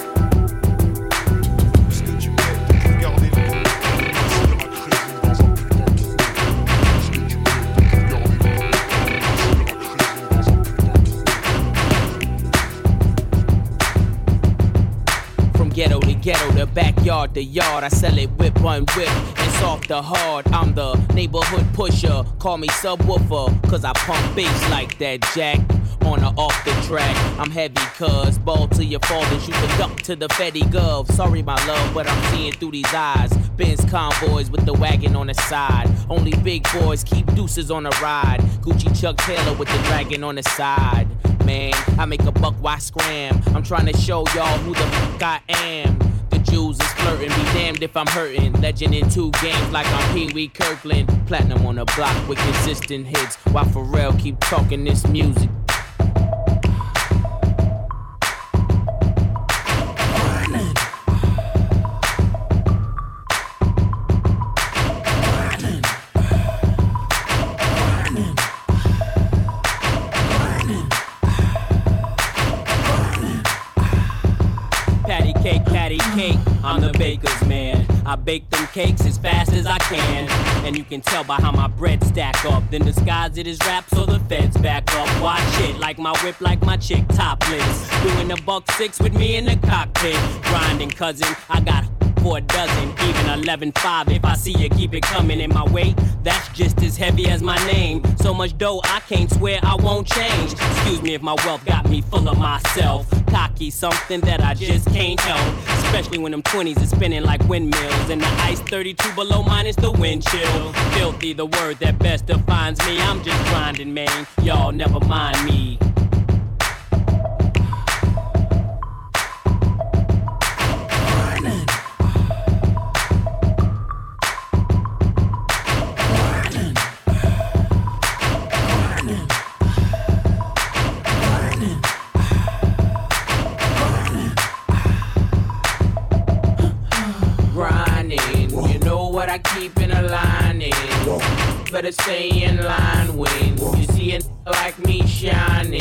Ghetto to ghetto, the backyard to yard. I sell it whip one whip and soft to hard. I'm the neighborhood pusher. Call me subwoofer, cause I pump bass like that, Jack. On or off the track, I'm heavy cuz ball till you fall and shoot the duck to the Fetty Gov. Sorry my love, but I'm seeing through these eyes. Benz convoys with the wagon on the side. Only big boys keep deuces on the ride. Gucci Chuck Taylor with the dragon on the side. Man, I make a buck, why scram? I'm trying to show y'all who the fuck I am. The Jews is flirting, be damned if I'm hurting. Legend in two games like I'm Pee Wee Kirkland. Platinum on the block with consistent hits, while Pharrell keep talking this music. I'm the baker's man. I bake them cakes as fast as I can, and you can tell by how my bread stack up. Then disguise it as rap so the feds back up. Watch it like my whip, like my chick topless. Doing a buck six with me in the cockpit. Grinding, cousin, I got for a dozen, even eleven five. If I see you keep it coming in my way, that's just as heavy as my name. So much dough I can't swear I won't change. Excuse me if my wealth got me full of myself. Cocky, something that I just can't help. Especially when them twenties are spinning like windmills, and the ice thirty-two below minus the wind chill. Filthy, the word that best defines me. I'm just grinding, man. Y'all never mind me. I keep in a line in. Better stay in line when you see it like me shining.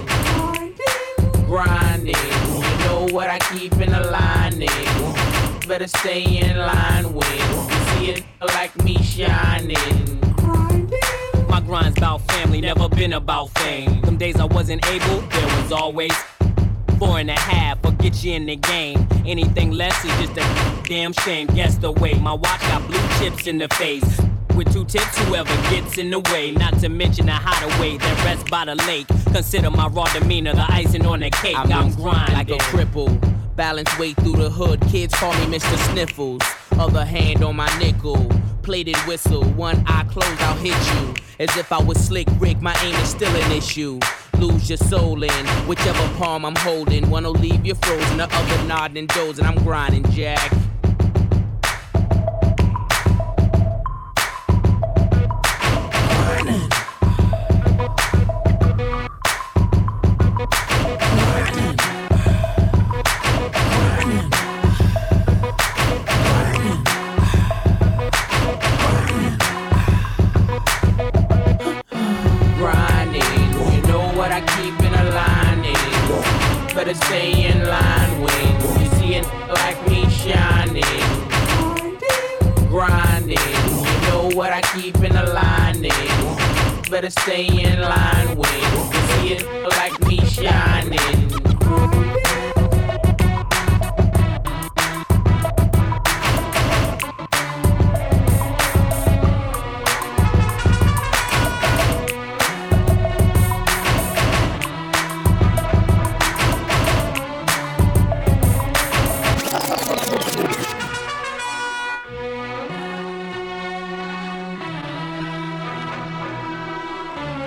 Grinding, you know what I keep in a line in. Better stay in line when you see it like me shining. My grind's about family, never been about fame. Them days I wasn't able, there was always four and a half, or get you in the game. Anything less is just a damn shame. Guess the way my watch got blue chips in the face. With two tips, whoever gets in the way. Not to mention the hideaway that rests by the lake. Consider my raw demeanor the icing on the cake. I'm, I'm grinding like a cripple. Balance way through the hood. Kids call me Mister Sniffles. Other hand on my nickel. Plated whistle. One eye closed, I'll hit you. As if I was Slick Rick, my aim is still an issue. Lose your soul in whichever palm I'm holding. One'll leave you frozen, the other nodding and dozing. I'm grinding, Jack. Better stay in line when you see it like me shining. Grinding, you know what I keep in a line in. Better stay in line when you see it like me shining.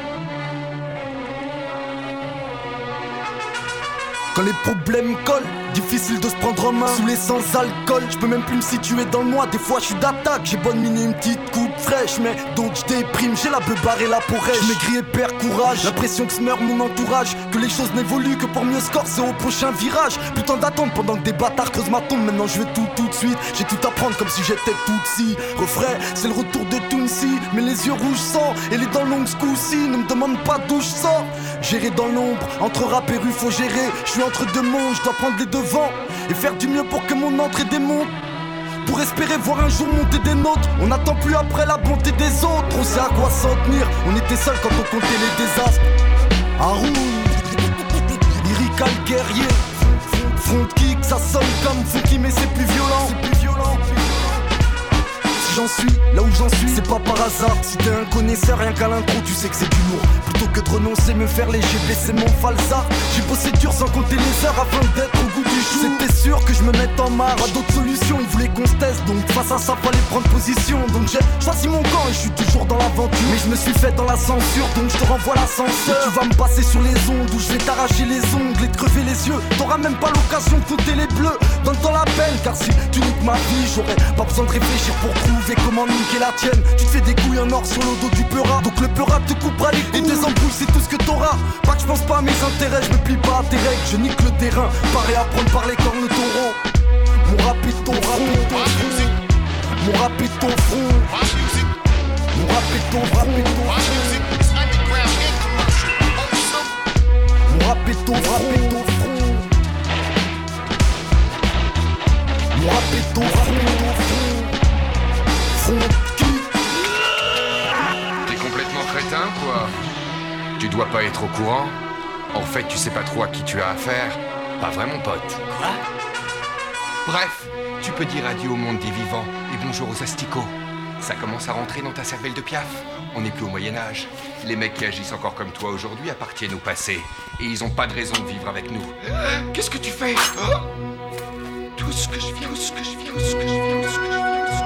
Quand les problèmes collent, difficile de se prendre en main. Sous les sans alcool, je peux même plus me situer dans le mois. Des fois je suis d'attaque, j'ai bonne mine et une petite coupe fraîche. Mais donc je déprime, j'ai la beuh barrée la porèche. Je maigris et perds courage, l'impression que se meurt mon entourage. Que les choses n'évoluent que pour mieux se corser au prochain virage. Putain d'attendre pendant que des bâtards creusent ma tombe. Maintenant je veux tout tout de suite, j'ai tout à prendre comme si j'étais Tutsi. Refrain, c'est le retour de Tounsi. Mais les yeux rouges sang et les dents longues ce coup-ci. Ne me demande pas d'où je sors. Gérer dans l'ombre, entre rap et rue faut gérer. Je suis entre deux mondes, je dois prendre les devants et faire du mieux pour que mon entrée démonte. Pour espérer voir un jour monter des nôtres. On n'attend plus après la bonté des autres. On sait à quoi s'en tenir. On était seuls quand on comptait les désastres. Haroun, lyrical guerrier. Front kick, ça sonne comme funky mais c'est plus violent. C'est plus violent. Si j'en suis, là où j'en suis, c'est pas par hasard. Si t'es un connaisseur, rien qu'à l'intro, tu sais que c'est du lourd. Plutôt que de renoncer, me faire léger, baisser mon falsa. J'ai bossé dur sans compter les heures afin d'être au goût du jour. C'était sûr que je me mette en marre, à d'autres solutions, ils voulaient qu'on se teste. Donc face à ça, fallait prendre position. Donc j'ai choisi mon camp et je suis toujours dans l'aventure. Mais je me suis fait dans la censure, donc je te renvoie l'ascenseur. Tu vas me passer sur les ondes, où je vais t'arracher les ongles et te crever les yeux. T'auras même pas l'occasion de compter les bleus. Donne-toi la peine, car si tu niques ma vie, j'aurais pas besoin de réfléchir pour trouver comment niquer la tienne. Tu te fais des couilles en or sur le dos du peura. Donc le peura te coupera les couilles. Et des embrouilles, c'est tout ce que t'auras. Pas que je pense pas à mes intérêts, je me plie pas à tes règles. Je nique le terrain, pareil à prendre par les cornes taureaux. Mon rap est ton front. Mon rap est ton front. Mon rap est ton front. Mon rap est ton front. Mon rap est ton front. T'es complètement crétin, quoi. Tu dois pas être au courant. En fait, tu sais pas trop à qui tu as affaire. Pas vrai, mon pote. Quoi? Bref, tu peux dire adieu au monde des vivants et bonjour aux asticots. Ça commence à rentrer dans ta cervelle de piaf. On n'est plus au Moyen-Âge. Les mecs qui agissent encore comme toi aujourd'hui appartiennent au passé. Et ils ont pas de raison de vivre avec nous. Qu'est-ce que tu fais? Oh, tout ce que je vis, tout ce que je vis, tout ce que je vis, tout ce que je vis, tout ce que je vis.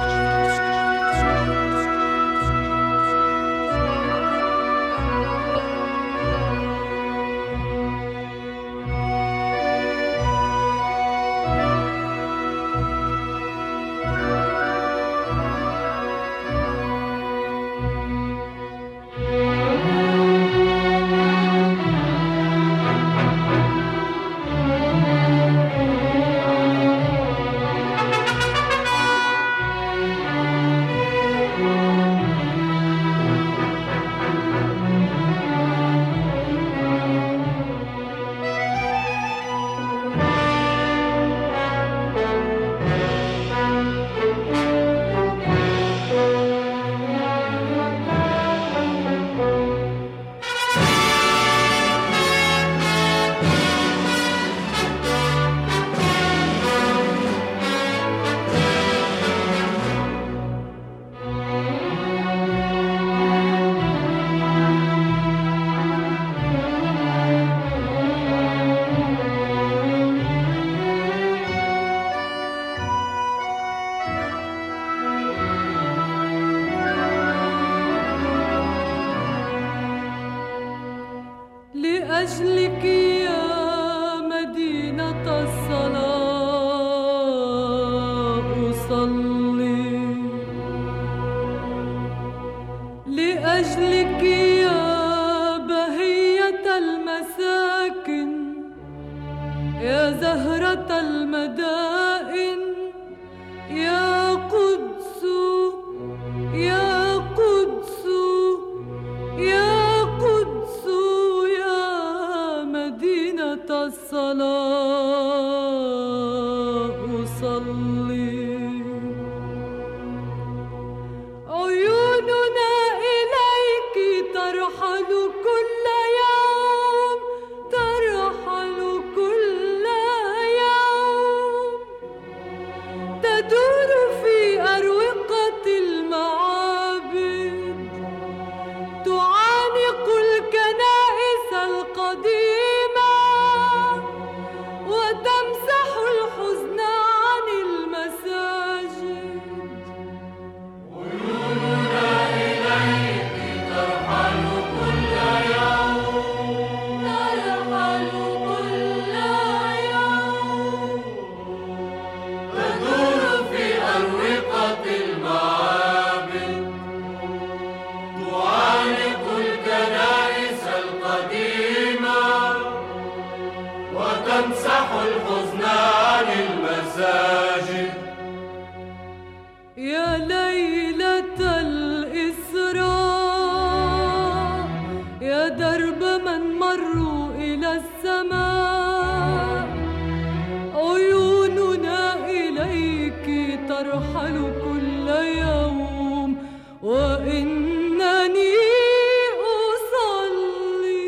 لأجلك يا مدينة الصلاة أصلي لأجلك يا بهية المساكن يا زهرة المدائن يا قدس يا قدس يا قدس يا مدينة الصلاة أصلي عيوننا إليك ترحل كل يوم ترحل كل يوم تدور في أروقة المعابد تعانق الكنائس القديمة وتمسح الحزن عن المساجد عيوننا إليك ترحل كل يوم ترحل كل يوم يا ليلة الإسراء يا درب من مروا إلى السماء عيوننا إليك ترحل كل يوم وإنني أصلي.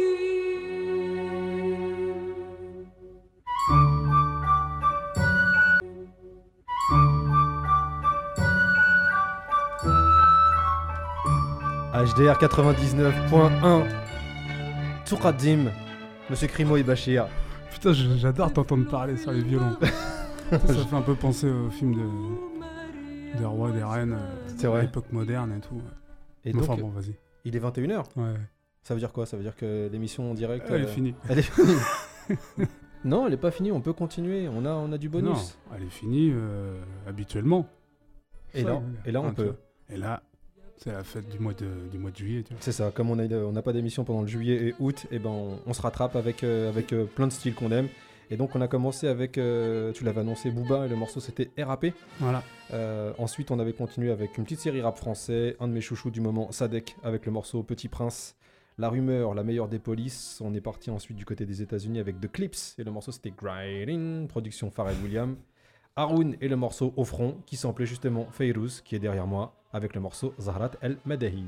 H D R quatre-vingt-dix-neuf point un Touradim, Monsieur Crimo et Bachir. Putain, j'adore t'entendre parler sur les violons. Ça fait un peu penser au film de, des rois et des reines, c'est à vrai. l'époque moderne et tout. Et enfin donc, bon, vas-y. Il est vingt et une heures. Ouais. Ça veut dire quoi? Ça veut dire que l'émission en direct... Elle est finie. Elle est finie. Non, elle est pas finie, on peut continuer, on a, on a du bonus. Non, elle est finie euh, habituellement. Et Ça, là, et là on enfin, peut. tu vois. Et là, c'est la fête du mois de, du mois de juillet. Tu vois. C'est ça, comme on n'a on a pas d'émission pendant le juillet et août, et ben on, on se rattrape avec, euh, avec euh, plein de styles qu'on aime. Et donc on a commencé avec, euh, tu l'avais annoncé, Booba, et le morceau c'était R A P. Voilà. Euh, ensuite on avait continué avec une petite série rap français, un de mes chouchous du moment, Sadek, avec le morceau Petit Prince. La rumeur, la meilleure des polices. On est parti ensuite du côté des États-Unis avec The Clips, et le morceau c'était Grinding, production Pharrell Williams. Haroun et le morceau Au front, qui samplait justement Fayrouz, qui est derrière moi, avec le morceau Zahrat El Madahi.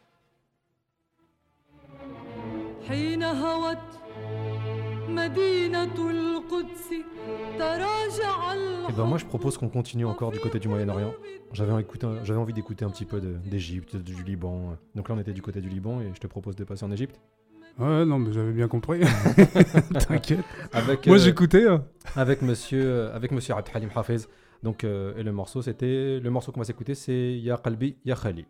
حين هوت مدينة القدس تراجع Et ben moi je propose qu'on continue encore du côté du Moyen-Orient. J'avais écouté, j'avais envie d'écouter un petit peu de, d'Égypte, du Liban. Donc là on était du côté du Liban et je te propose de passer en Égypte. Ouais, non, mais j'avais bien compris. T'inquiète. Avec, Moi euh, j'écoutais. Hein. Avec monsieur, euh, avec monsieur Abd Halim Hafez. Donc euh, et le morceau c'était, le morceau qu'on va s'écouter c'est Ya Qalbi Ya Khali.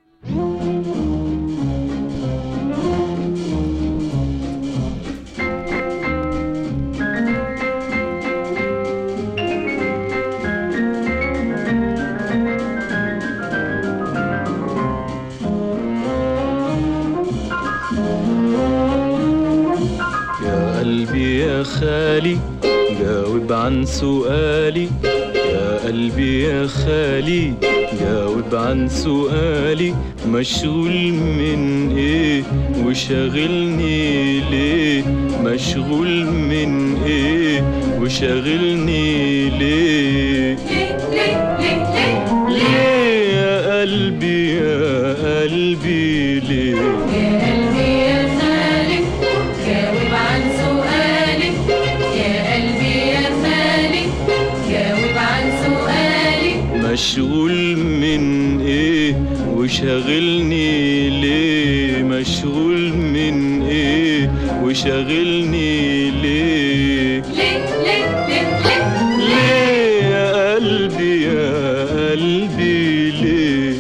يا خالي جاوب عن سؤالي يا قلبي يا خالي جاوب عن سؤالي مشغول من ايه وشاغلني ليه مشغول من ايه وشاغلني ليه ليه ليه ليه ليه يا قلبي يا قلبي ليه يا قلبي يا خالي جاوب عن سؤالي يا قلبي يا خالي جاوب عن سؤالي مشغول من ايه وشاغلني ليه مشغول من ايه وشاغلني ليه ليه ليه ليه ليه ليه يا قلبي يا قلبي ليه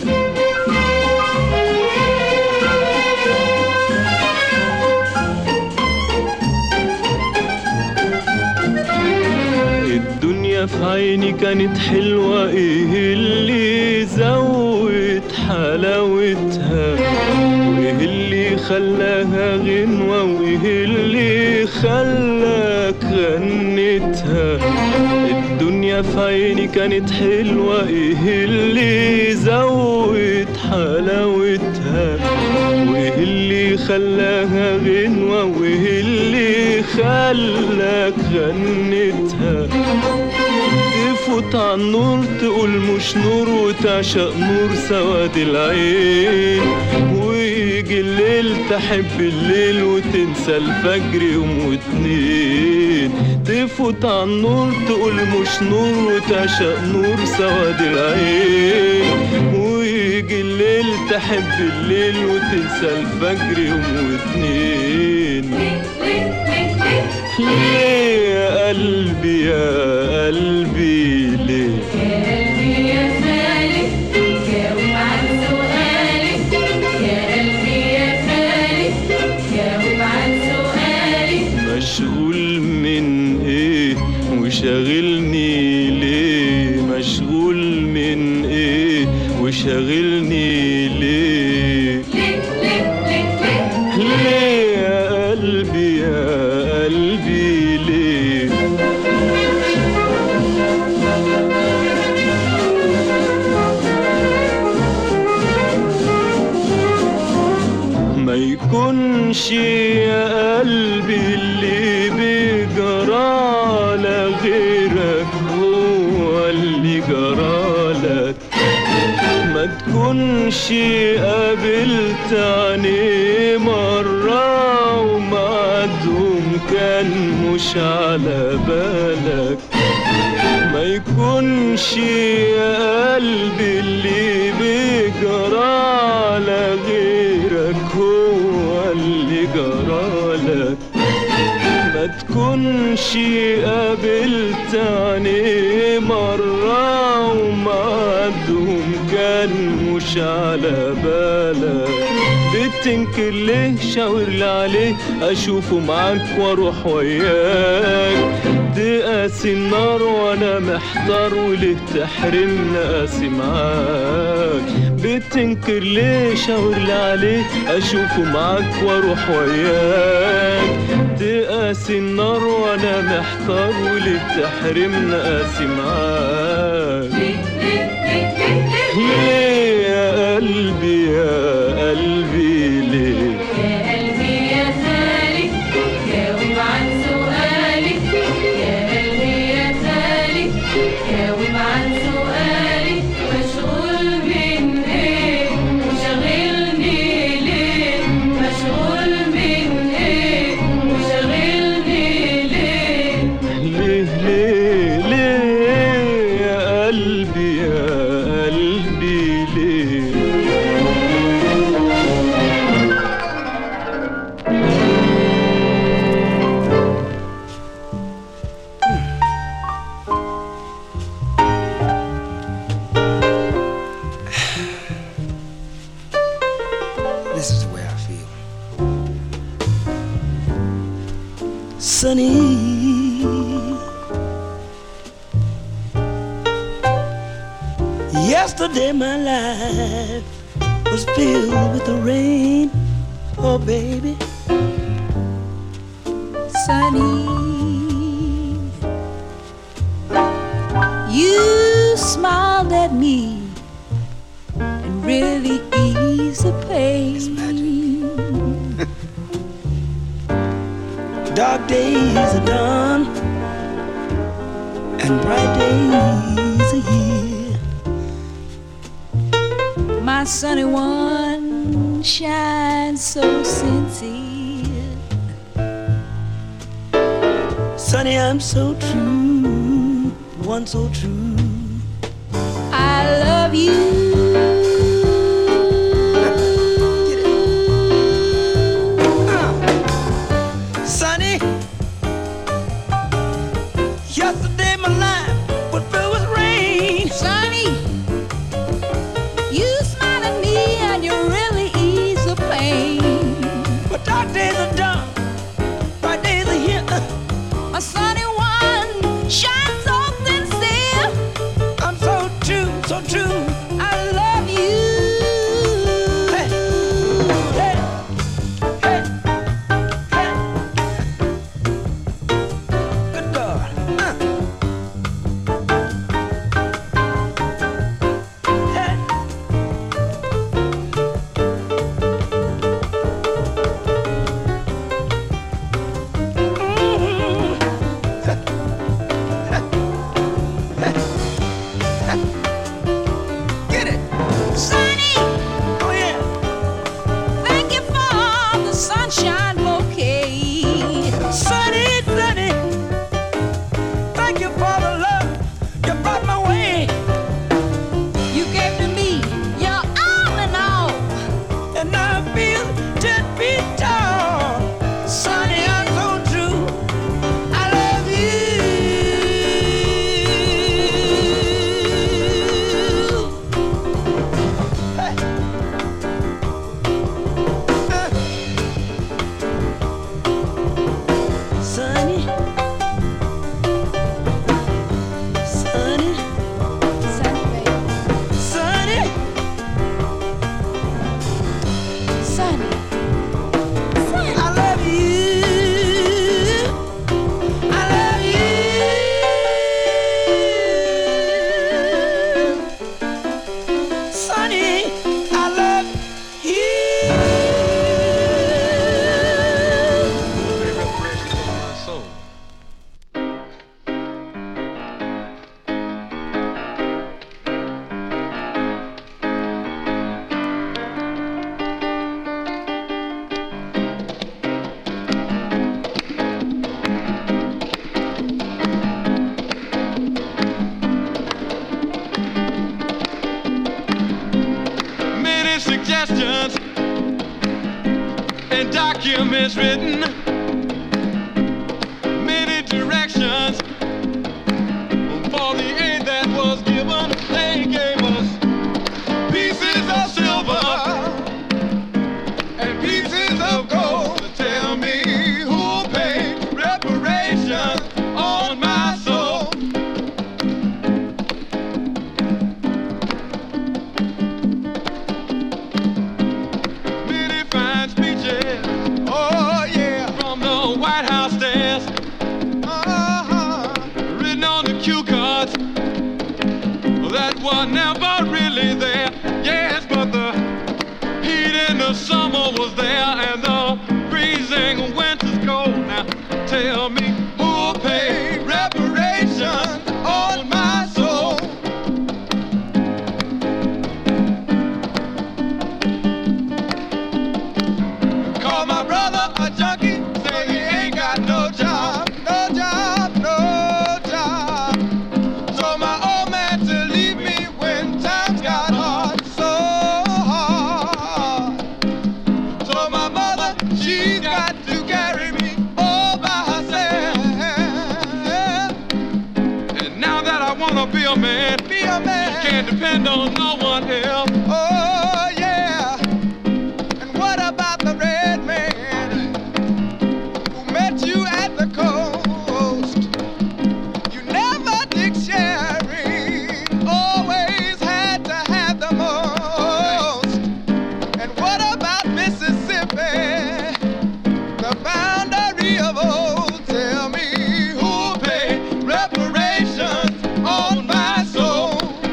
الدنيا في عيني كانت حلوة ايه اللي زود حلاوتها وايه اللي خلاها غنوة وايه اللي خلاك غنتها الدنيا في عيني كانت حلوة ايه اللي زود حلاوتها وايه اللي خلاها غنوة وايه اللي خلاك غنتها تفوت عن نور تقول مش نور وتعشق نور سواد العين ويجي الليل تحب الليل وتنسى الفجر يوم واتنين تفوت عن نور تقول مش نور وتعشق نور سواد العين ويجي الليل تحب الليل وتنسى الفجر يوم واتنين ليه يا قلبي يا قلبي ليه يا قلبي يا خالي جاوب عن سؤالي يا قلبي يا خالي جاوب عن سؤالي مشغول من ايه وشاغلني ليه مشغول من ايه وشاغلني ليه ليه ليه ليه ليه ليه يا قلبي يا قلبي ليه تكونش يا قلبي اللي بيجرى غيرك هو اللي جرالك. ما تكونش قابلت عينيه مرة ومعدهم كان مش على بالك. ما يكونش يا قلبي اللي بيجرى على غيرك هو اللي جرالك. ما تكونش قابلت عينيه مرة ومعدهم كان مش على بالك. بتنكر ليه؟ شاورلي عليه اشوفه معاك واروح وياك. تقاسي النار وانا محتار وليه تحرمني قاسي معاك. بتنكر ليه؟ شاورلي عليه اشوفه معاك واروح وياك. تقاسي النار وانا محتار وليه تحرمني قاسي معاك. ليه يا قلبي يا قلبي ليه؟ يا قلبي يا خالي جاوب عن سؤالي. يا قلبي يا خالي جاوب عن سؤالي. مشغول من ايه وشاغلني ليه؟ مشغول من ايه وشاغلني ليه؟ ليه ليه ليه يا قلبي يا قلبي ليه؟ This is the way I feel. Sunny, yesterday my life was filled with the rain. Oh baby, Sunny, you smiled at me and really eased the pain. dark days are done and bright days are here. My sunny one shines so sincere. Sunny, I'm so true, one so true. I love you. Yesterday my life was filled with rain. Sonny, you smile at me and you really ease the pain. But dark days are done, bright days are here. My sunny one shines so sincere. I'm so true, so true. I love you. Hey, hey, hey, hey. Good God. Uh. suggestions and documents written, many directions for the aid that was given. They gave us pieces of silver and pieces of gold. Tell me who'll pay reparations on my soul. Many fine speeches, oh yeah, from the White House stairs, uh-huh, written on the cue cards that were never really there. Yes, but the heat in the summer was there and the freezing winter's cold. Now tell me who'll pay reparations on my soul. Call my brother a junkie, say he ain't got no job, no job, no job. Told my old man to leave me when times got hard, so hard. Told my mother she's got to carry me all by herself. And now that I wanna be a man, be a man, can't depend on no one else. Oh yeah. And what about the red man who met you at the coast? You never did sharing, always had to have the most. And what about Mississippi, the boundary of old? Tell me who'll pay reparations on my soul.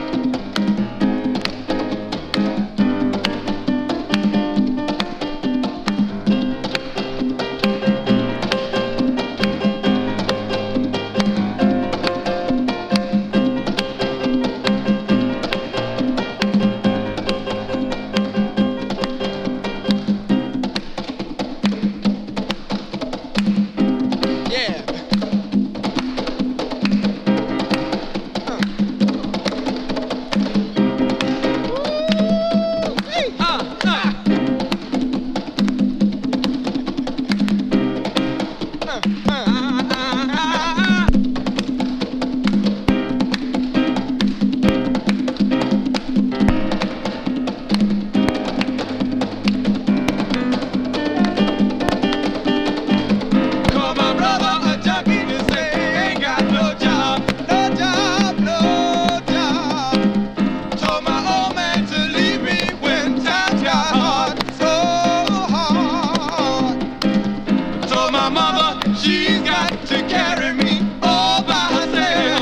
Yeah. Uh, uh. Call my brother a junkie to say he ain't got no job, no job, no job. Told my old man to leave me when times got hard, so hard. Told my mother she's got to carry me all by herself.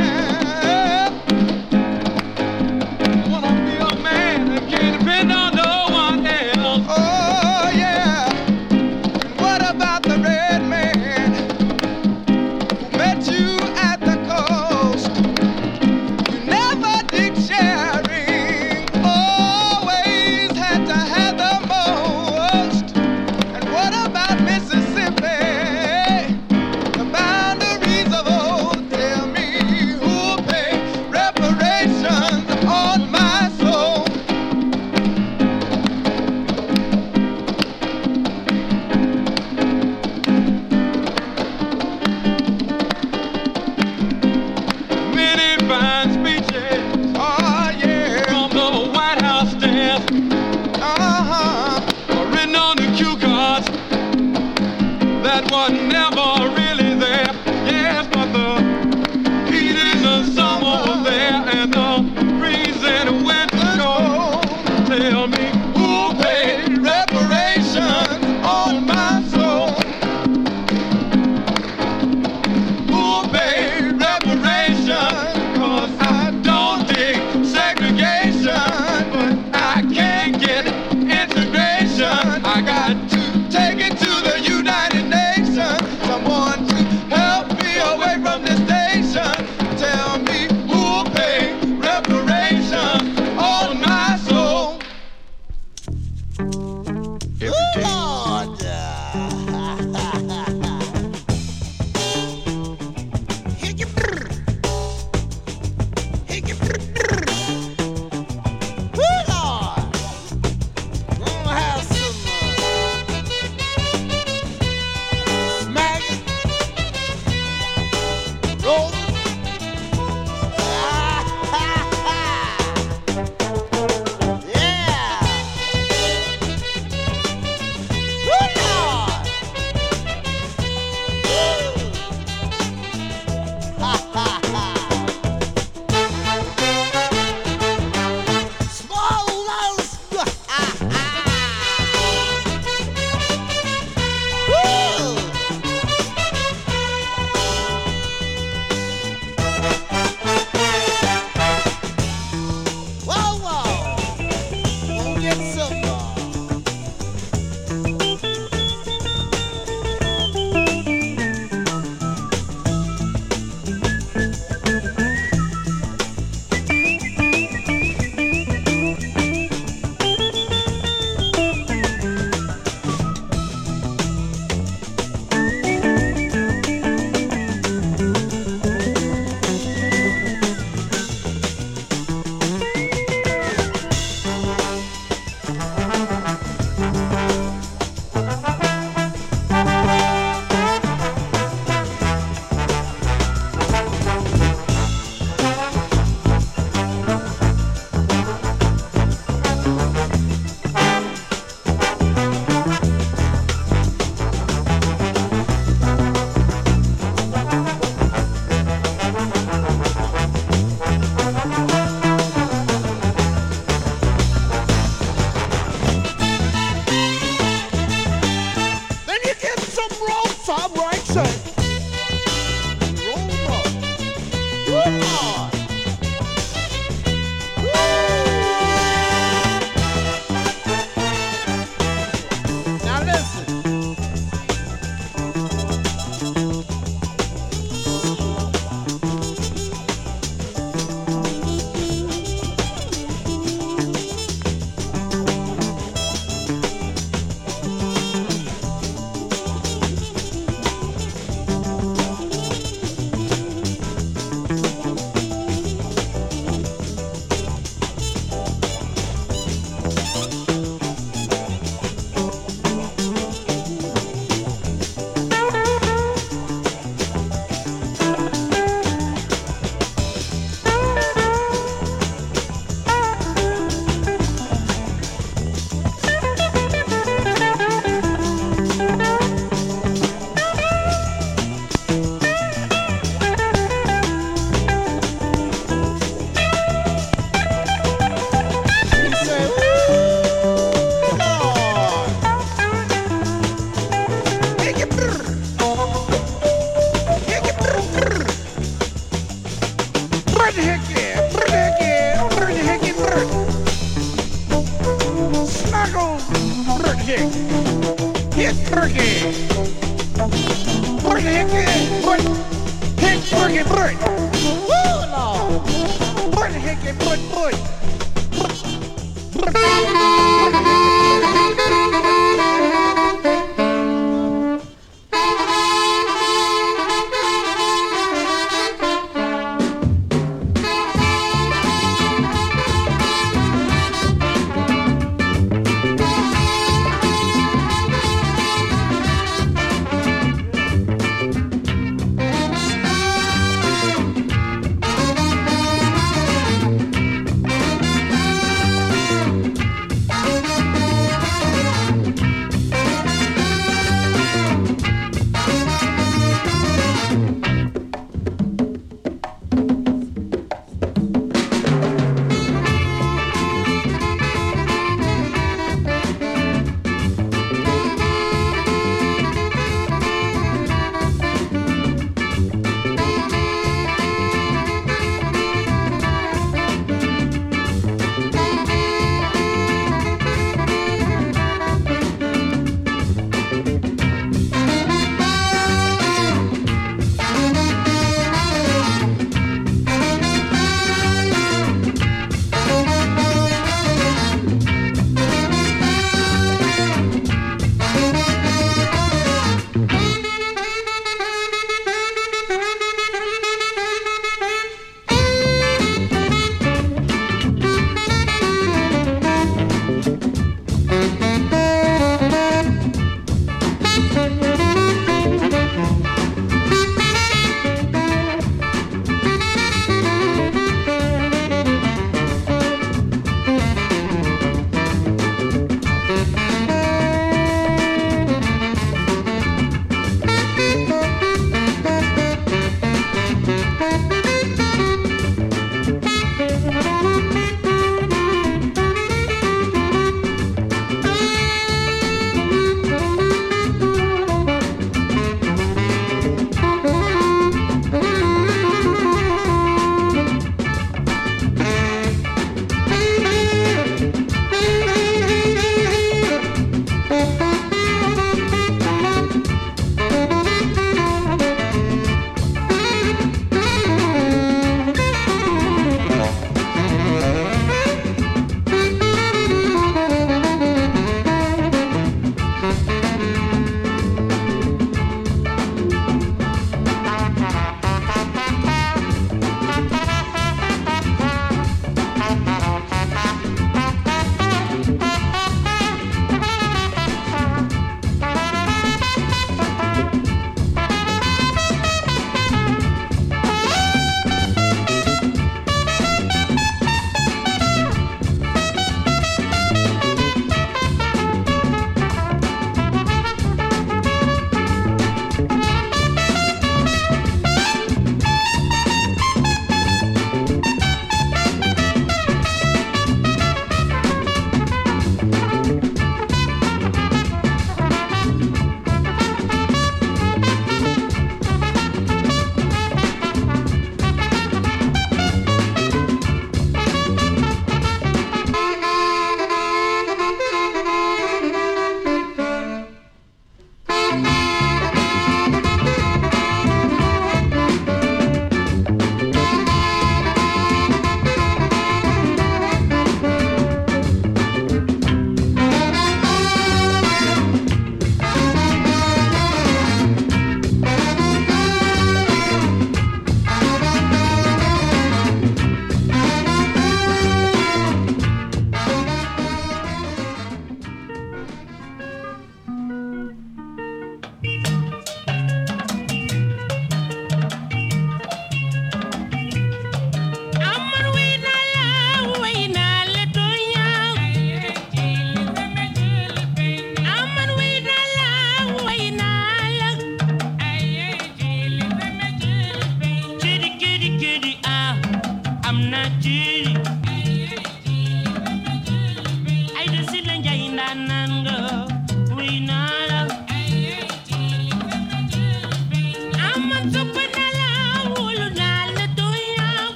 I wanna be a man and can't depend on no one else. Oh yeah. And what about the red man who met you at the coast? You never did sharing, always had to have the most. And what about Mississippi, the boundaries of old? Tell me who'll pay reparations on my soul. Many fine speeches, oh yeah, from the White House stairs, uh-huh, written on the cue cards that were never really there. Yes, but the heat in the summer was there and the freezing winter cold. Tell me who'll pay reparations on my soul. Who'll pay reparations? 'Cause I don't dig segregation, but I can't get integration. I got to take it to the United Nations. magic. Hit Bergie. Put hit it. Put hit Bergie. Put. Woo, Lord. Put hit it. Put put.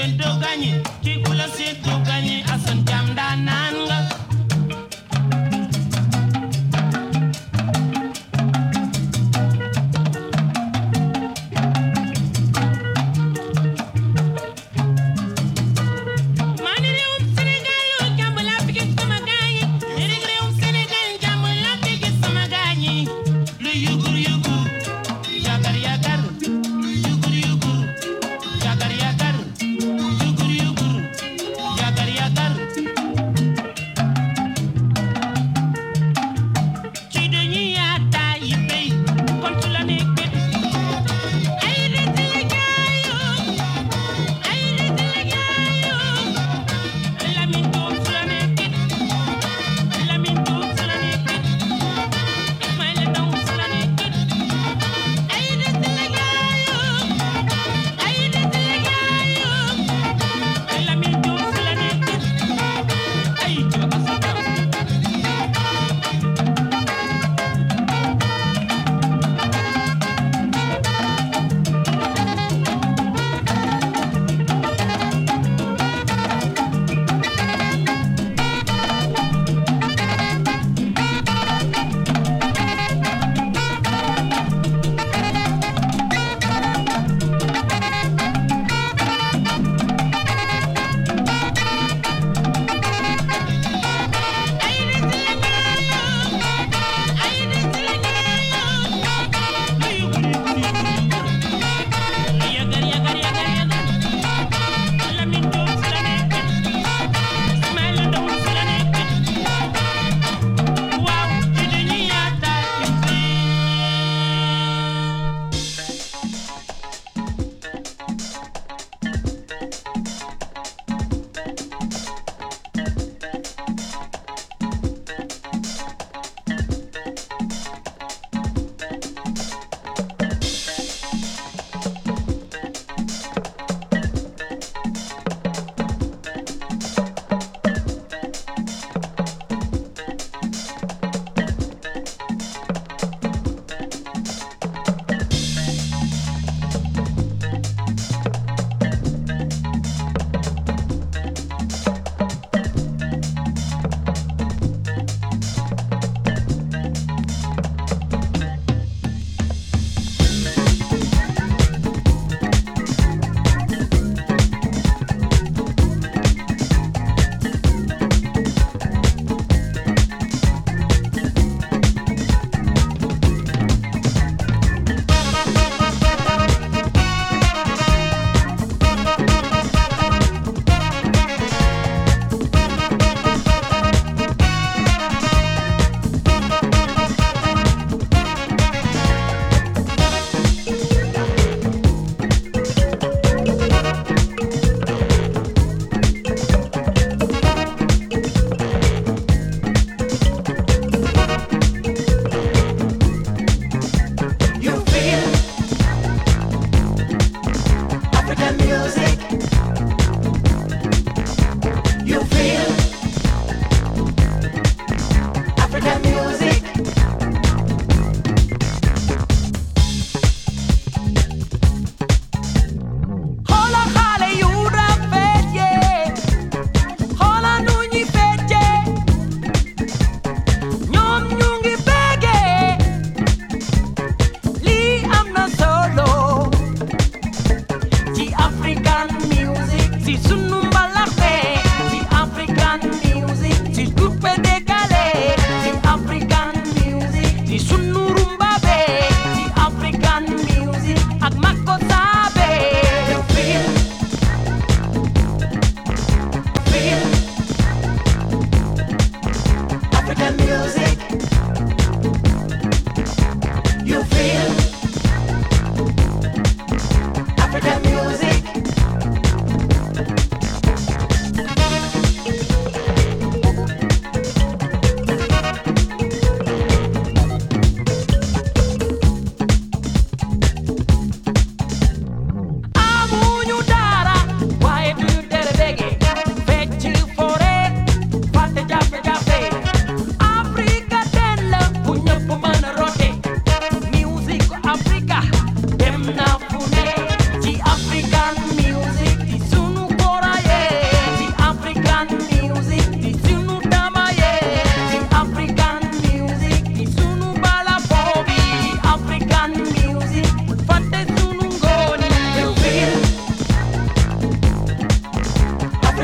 séento gagné ci ku la séento gagné Assane Thiam daa naan nga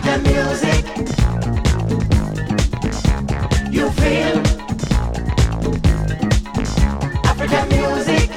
African music. You feel African music.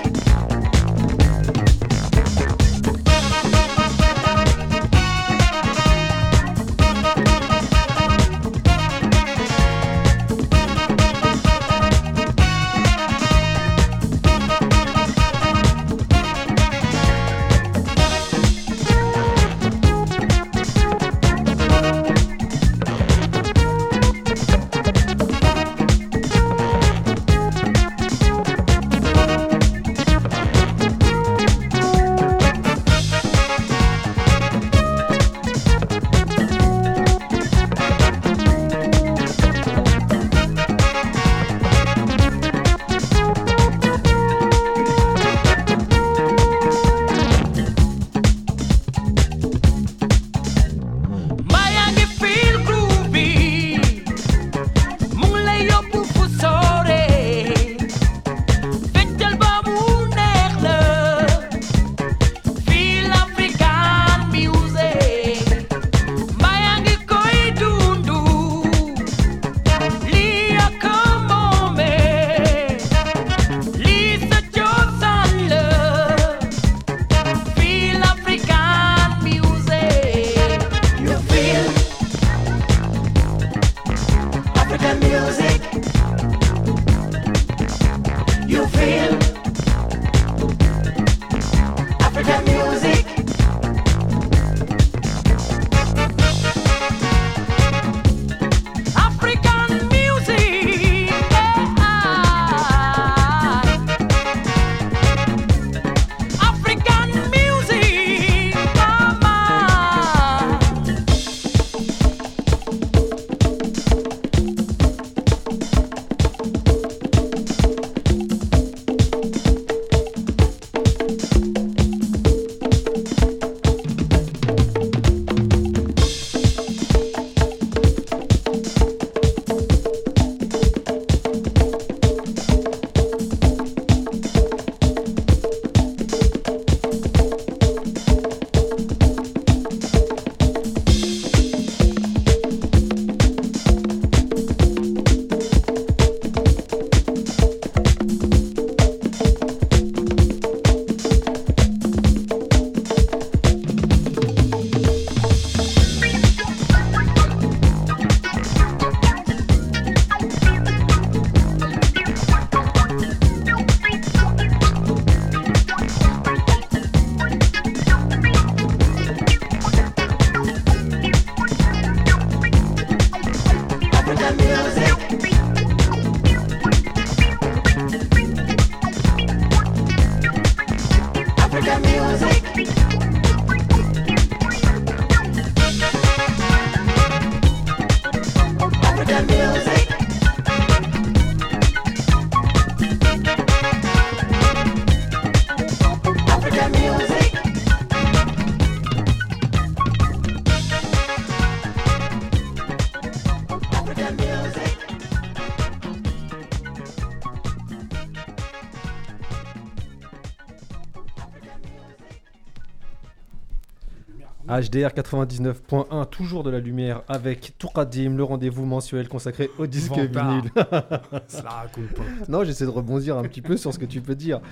H D R quatre-vingt-dix-neuf point un, toujours de la lumière avec Tourkadim, le rendez-vous mensuel consacré au disque Vantard. vinyle. Ça la raconte pas. Non, j'essaie de rebondir un petit peu sur ce que tu peux dire.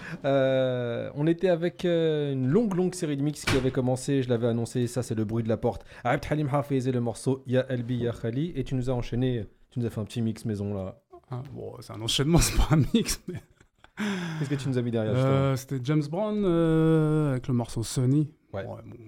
Euh, on était avec euh, une longue, longue série de mix qui avait commencé, je l'avais annoncé, ça c'est le bruit de la porte. Abd Halim Hafez et le morceau Ya Albi Ya Khali, et tu nous as enchaîné, tu nous as fait un petit mix maison là. Ah, bon, c'est un enchaînement, c'est pas un mix. Mais... Qu'est-ce que tu nous as mis derrière euh, C'était James Brown euh, avec le morceau Sunny. Ouais. Ouais, bon.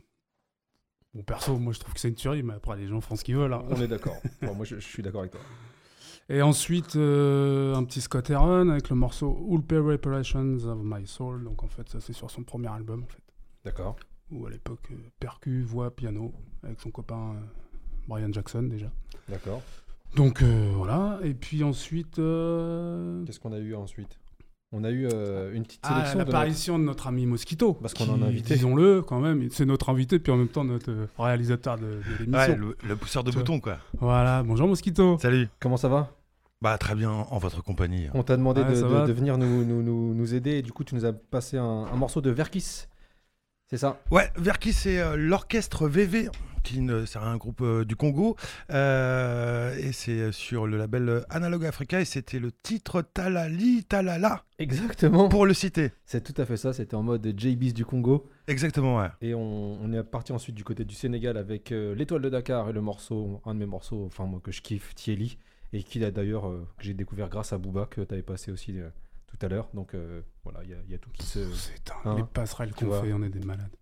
Bon, perso, moi je trouve que c'est une tuerie, mais après les gens font ce qu'ils veulent. Hein. On est d'accord. Bon, moi je, je suis d'accord avec toi. Et ensuite, euh, un petit Scott Heron avec le morceau All Pay Reparations of My Soul. Donc en fait, ça c'est sur son premier album en fait. D'accord. Où à l'époque, euh, percu, voix, piano, avec son copain euh, Brian Jackson déjà. D'accord. Donc euh, voilà. Et puis ensuite. Euh... Qu'est-ce qu'on a eu ensuite ? On a eu euh, une petite ah, sélection l'apparition de, notre... de notre ami Mosquito. Parce qu'on en a invité. Disons-le quand même, c'est notre invité, puis en même temps notre euh, réalisateur de, de l'émission. Ouais, le, le pousseur de boutons, quoi. Voilà, bonjour Mosquito. Salut. Comment ça va ? Bah très bien, en votre compagnie. On t'a demandé ouais, de, de, de venir nous, nous, nous, nous aider, et du coup tu nous as passé un, un morceau de Verkis. C'est ça. Ouais, Verki, c'est euh, l'orchestre V V, qui ne- c'est un groupe euh, du Congo, euh, et c'est sur le label euh, Analog Africa, et c'était le titre Talali Talala. Exactement. Pour le citer. C'est tout à fait ça, c'était en mode J B du Congo. Exactement, ouais. Et on, on est parti ensuite du côté du Sénégal avec euh, l'Étoile de Dakar et le morceau, un de mes morceaux, enfin moi que je kiffe, Thieli, et qui a d'ailleurs, euh, que j'ai découvert grâce à Booba, que tu avais passé aussi euh, tout à l'heure. Donc euh, voilà, il y, a- il y a tout qui se... C'est hein, les passerelles tu qu'on vois. fait, on est des malades.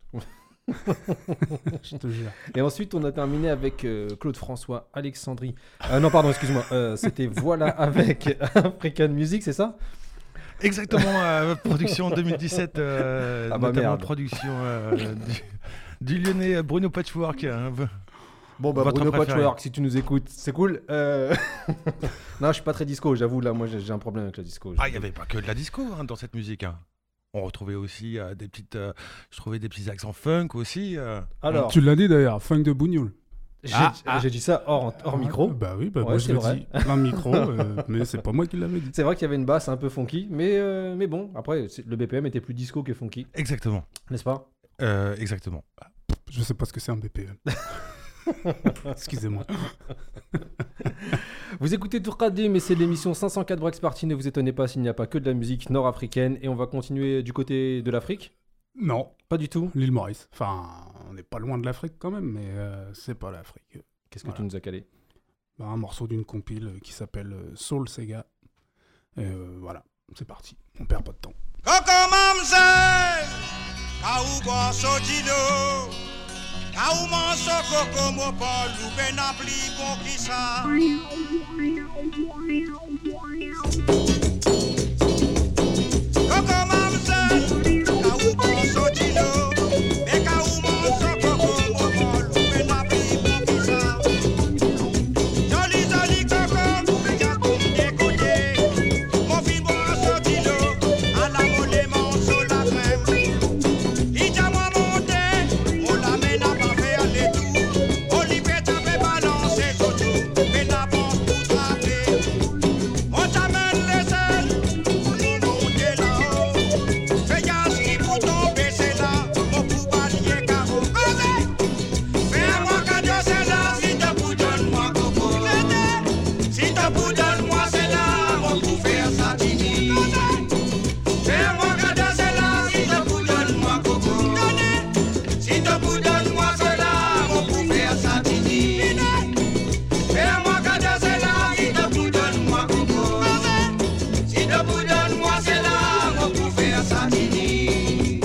Je te jure. Et ensuite, on a terminé avec euh, Claude François, Alexandrie. Euh, non, pardon, excuse-moi. euh, C'était Voilà avec African Music, c'est ça? Exactement, euh, production deux mille dix-sept, euh, Ah bah notamment merde. production euh, du, du lyonnais Bruno Patchwork. hein, v- Bon, bah, votre Bruno préféré. Patchwork, si tu nous écoutes, c'est cool. Euh, non, je suis pas très disco, j'avoue, là, moi j'ai j'ai un problème avec la disco. Ah, il n'y avait pas que de la disco hein, dans cette musique. hein. On retrouvait aussi euh, des petites, euh, je trouvais des petits accents funk aussi. euh. Alors, Tu l'as dit d'ailleurs, funk de Bougnoul. j'ai Ah, j'ai dit ça hors, hors micro. Bah oui, bah Ouais, moi je c'est le vrai. dis plein micro, euh, mais c'est pas moi qui l'avais dit. C'est vrai qu'il y avait une basse un peu funky, mais, euh, mais bon, après, c'est- le B P M était plus disco que funky, Exactement. n'est-ce pas? Euh, exactement. Je sais pas ce que c'est un B P M. Excusez-moi. Vous écoutez Tourkadim et c'est l'émission cinq cent quatre Breaks Party. Ne vous étonnez pas s'il n'y a pas que de la musique nord-africaine. Et on va continuer du côté de l'Afrique. Non, Pas du tout. l'île Maurice. Enfin, on n'est pas loin de l'Afrique quand même, mais euh, c'est pas l'Afrique. Qu'est-ce que Voilà. tu nous as calé? Bah, un morceau d'une compile qui s'appelle euh, Soul Sega. Et euh, voilà, c'est parti. On perd pas de temps. Coco mamze, kaou kwa sotilo, kaou manso coco mo pa loupe na pli bon ki sa. Coco mamze, kaou kwa sotilo, me kaou manso coco mo pa loupe na pli bon ki sa. Joli joli coco, me ja kou de kote, mon fin bon sotilo, à la mole manso la crème. Il t'a moi monté, on la mène à pas faire les tours. On y fait taper balancer surtout, mais la banque pour trapper. On t'amène les ailes, on nous monter là-haut. Fais gaz qui pour tomber, c'est là, mon pour balayer carreau. Fais-moi cadeau, c'est là, si t'as pour donne-moi coco. Si t'as pour donne-moi, c'est là, mon pour faire satini. Fais-moi cadeau, c'est là, si t'as pour donne-moi coco. Si t'as pour donne-moi, c'est là, mon pour faire satini. Fais-moi cadeau, c'est là, si t'as pour donne-moi coco. Si t'as pour donne-moi, c'est là, mon pour faire satini.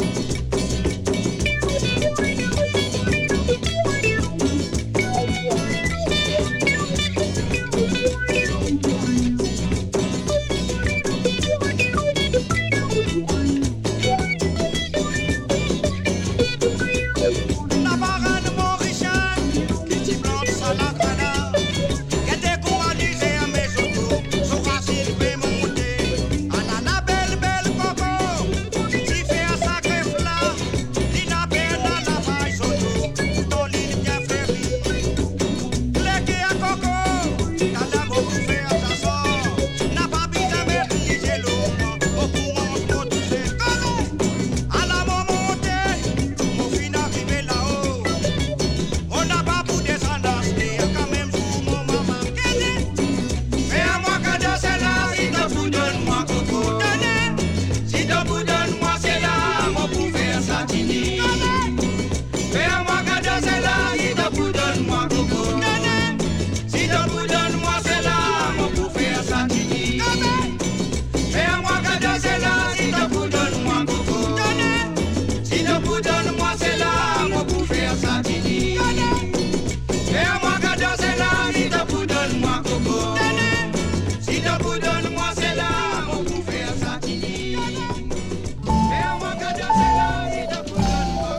La barane mauricienne qui t'y plante sa lacrana, qui décoalisé à mes autos, son racine fait monter. Ah la belle belle coco, qui fait un sacré flat, qui n'a peine à la paille soto, ton ligne bien fleurie. Légué à coco, t'as la beau faire ta sort, n'a pas besoin de maîtriser l'eau, au courant pour tous ces conneries. À la montée, mon fin arrivé là-haut. On n'a pas pour descendance, mais quand même sous mon maman. Mais à moi cadeau c'est là, si t'as pour donne-moi coco. Si t'as pour donne-moi c'est là, mon pour faire satini. Mais à moi cadeau c'est là, si t'as pour donne-moi coco. Si t'as pour donne-moi c'est là, mon pour faire satini. Mais à moi cadeau c'est là, si t'as pour donne-moi coco. Si t'as pour donne-moi c'est là, mon pour faire satini. Mais à moi cadeau c'est là, si t'as pour donne-moi coco. Si t'as pour donne-moi c'est là, mon pour faire satini. Mais à moi cadeau c'est là, si t'as pour donne-moi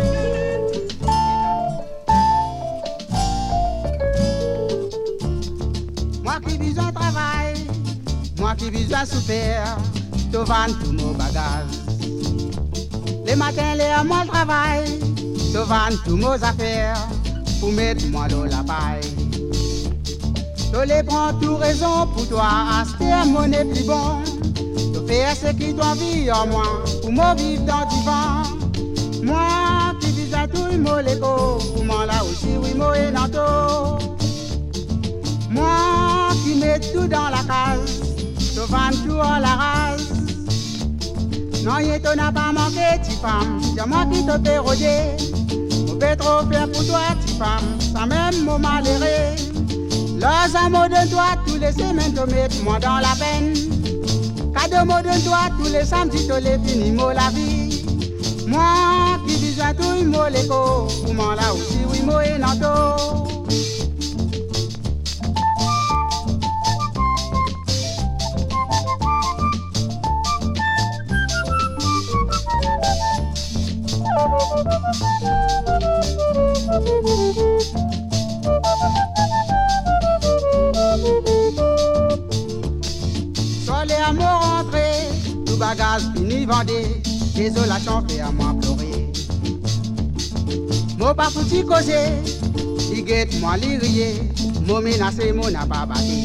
Moi qui besoin travail, moi qui besoin souffrir, te vendre tout mon bagage. Les matins, les à moi le travail, te vendre tous mes affaires, pour mettre moi dans la paille. Je les prends tout raison pour toi, acheter mon est plus bon. De faire ce qui doit vivre en moi, pour moi vivre dans du vent. Moi qui vis à tout Moléco, comment là aussi oui Moé Nanto. Moi qui mets tout dans la case, te vends tout à la race. Non, y'a ton n'a pas manqué, ti femme, c'est moi qui te fais rôder. On peut trop faire pour toi, ti femme, sans même mot malheureux. Leurs amours de toi, tous les semaines te mettent moi dans la peine. Cadeau mots de toi, tous les samedis te les finis, mot la vie. Moi qui vis à tout Moléco, comment là aussi oui Moé Nanto. Sur les amours rentrés, tout bagage fini vendé, désolation fait à moi pleurer. Mon pas foutu causer, il guette moi li rier, mon menacé mon n'a pas battu.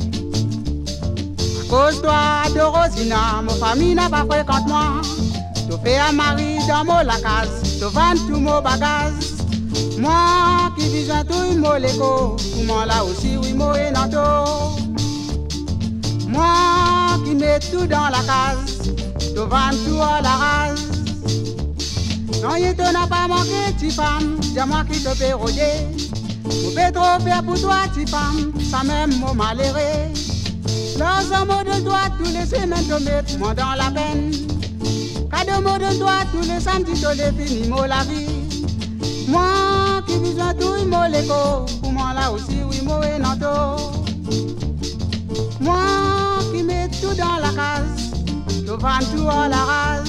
À cause toi de Rosina, mon famille n'a pas fréquente moi. Tu fais un mari dans mon la case, tu vends tout mon bagage. Moi qui vis à tout Moléco, comment là aussi oui Moé Nanto. Moi qui mets tout dans la case, tu vends tout à la race. Non, il te n'a pas manqué, ti femme, c'est moi qui te fais rôder. Je peux trop faire pour toi, ti femme, sans même mot malheureux. Leurs amours de toi, tous les semaines te mettent moi dans la peine. Cadeau mots de toi, tous les samedis te les finis, mot la vie. Moi qui vis à tout Moléco, pour moi là aussi oui Moé Nanto. Moi qui mets tout dans la case, je vends tout à la race.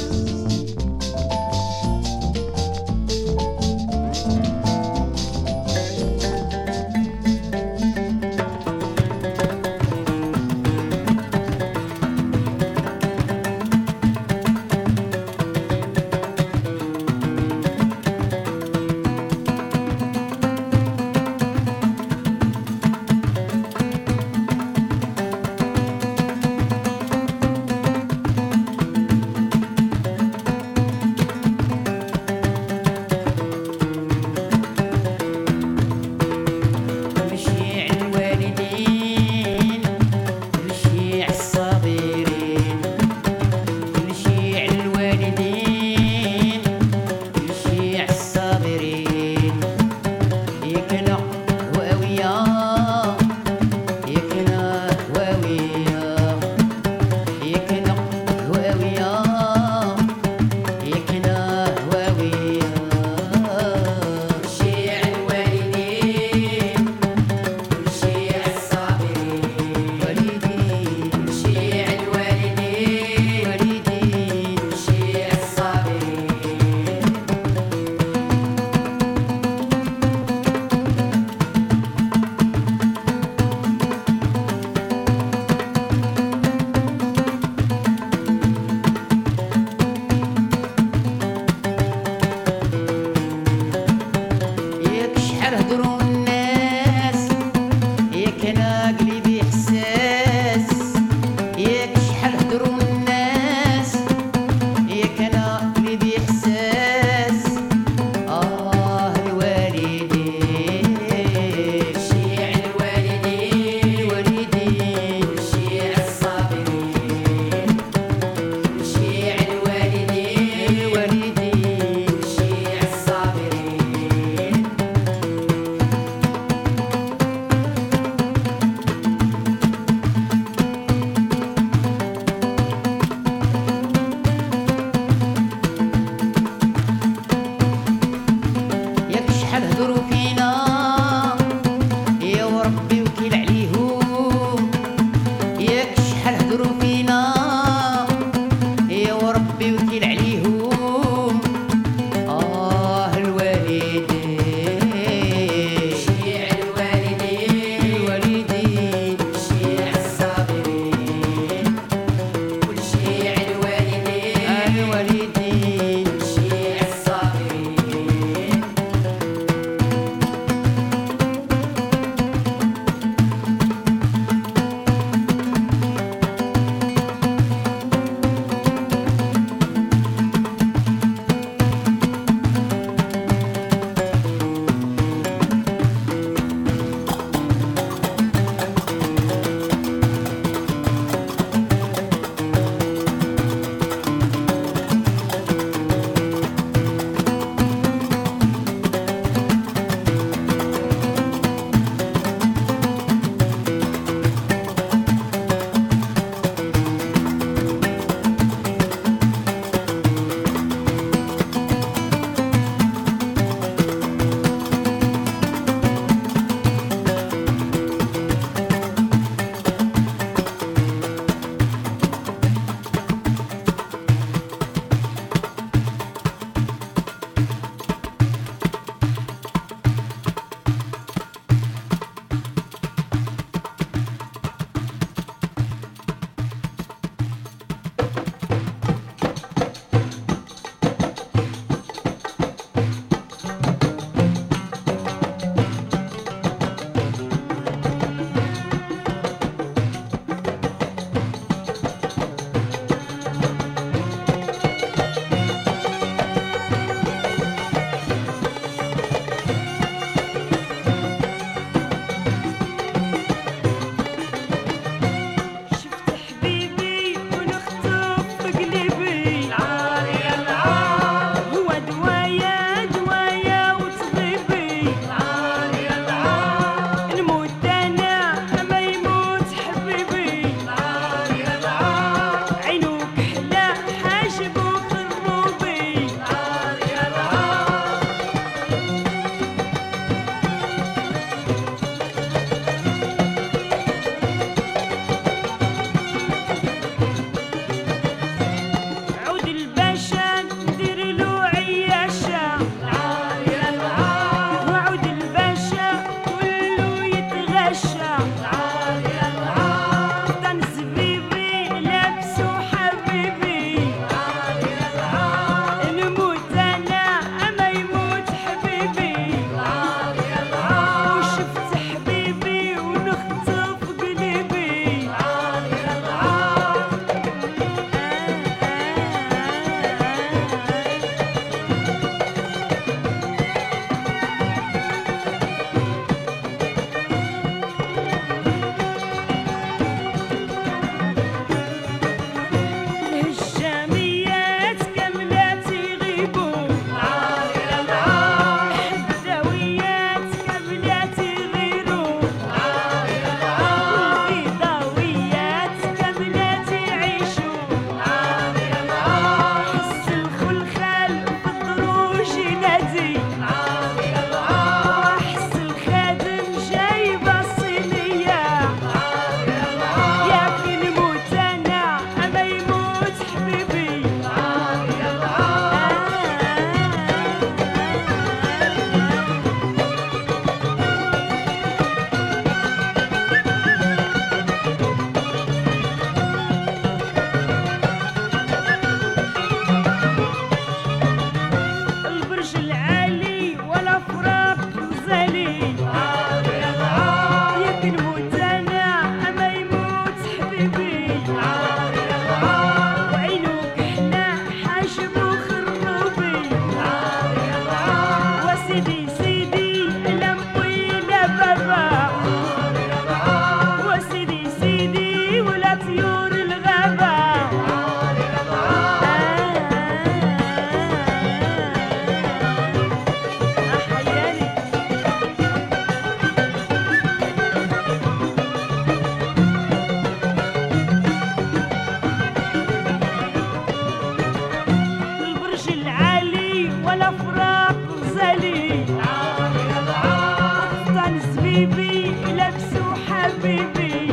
حبيبي لابسو حبيبي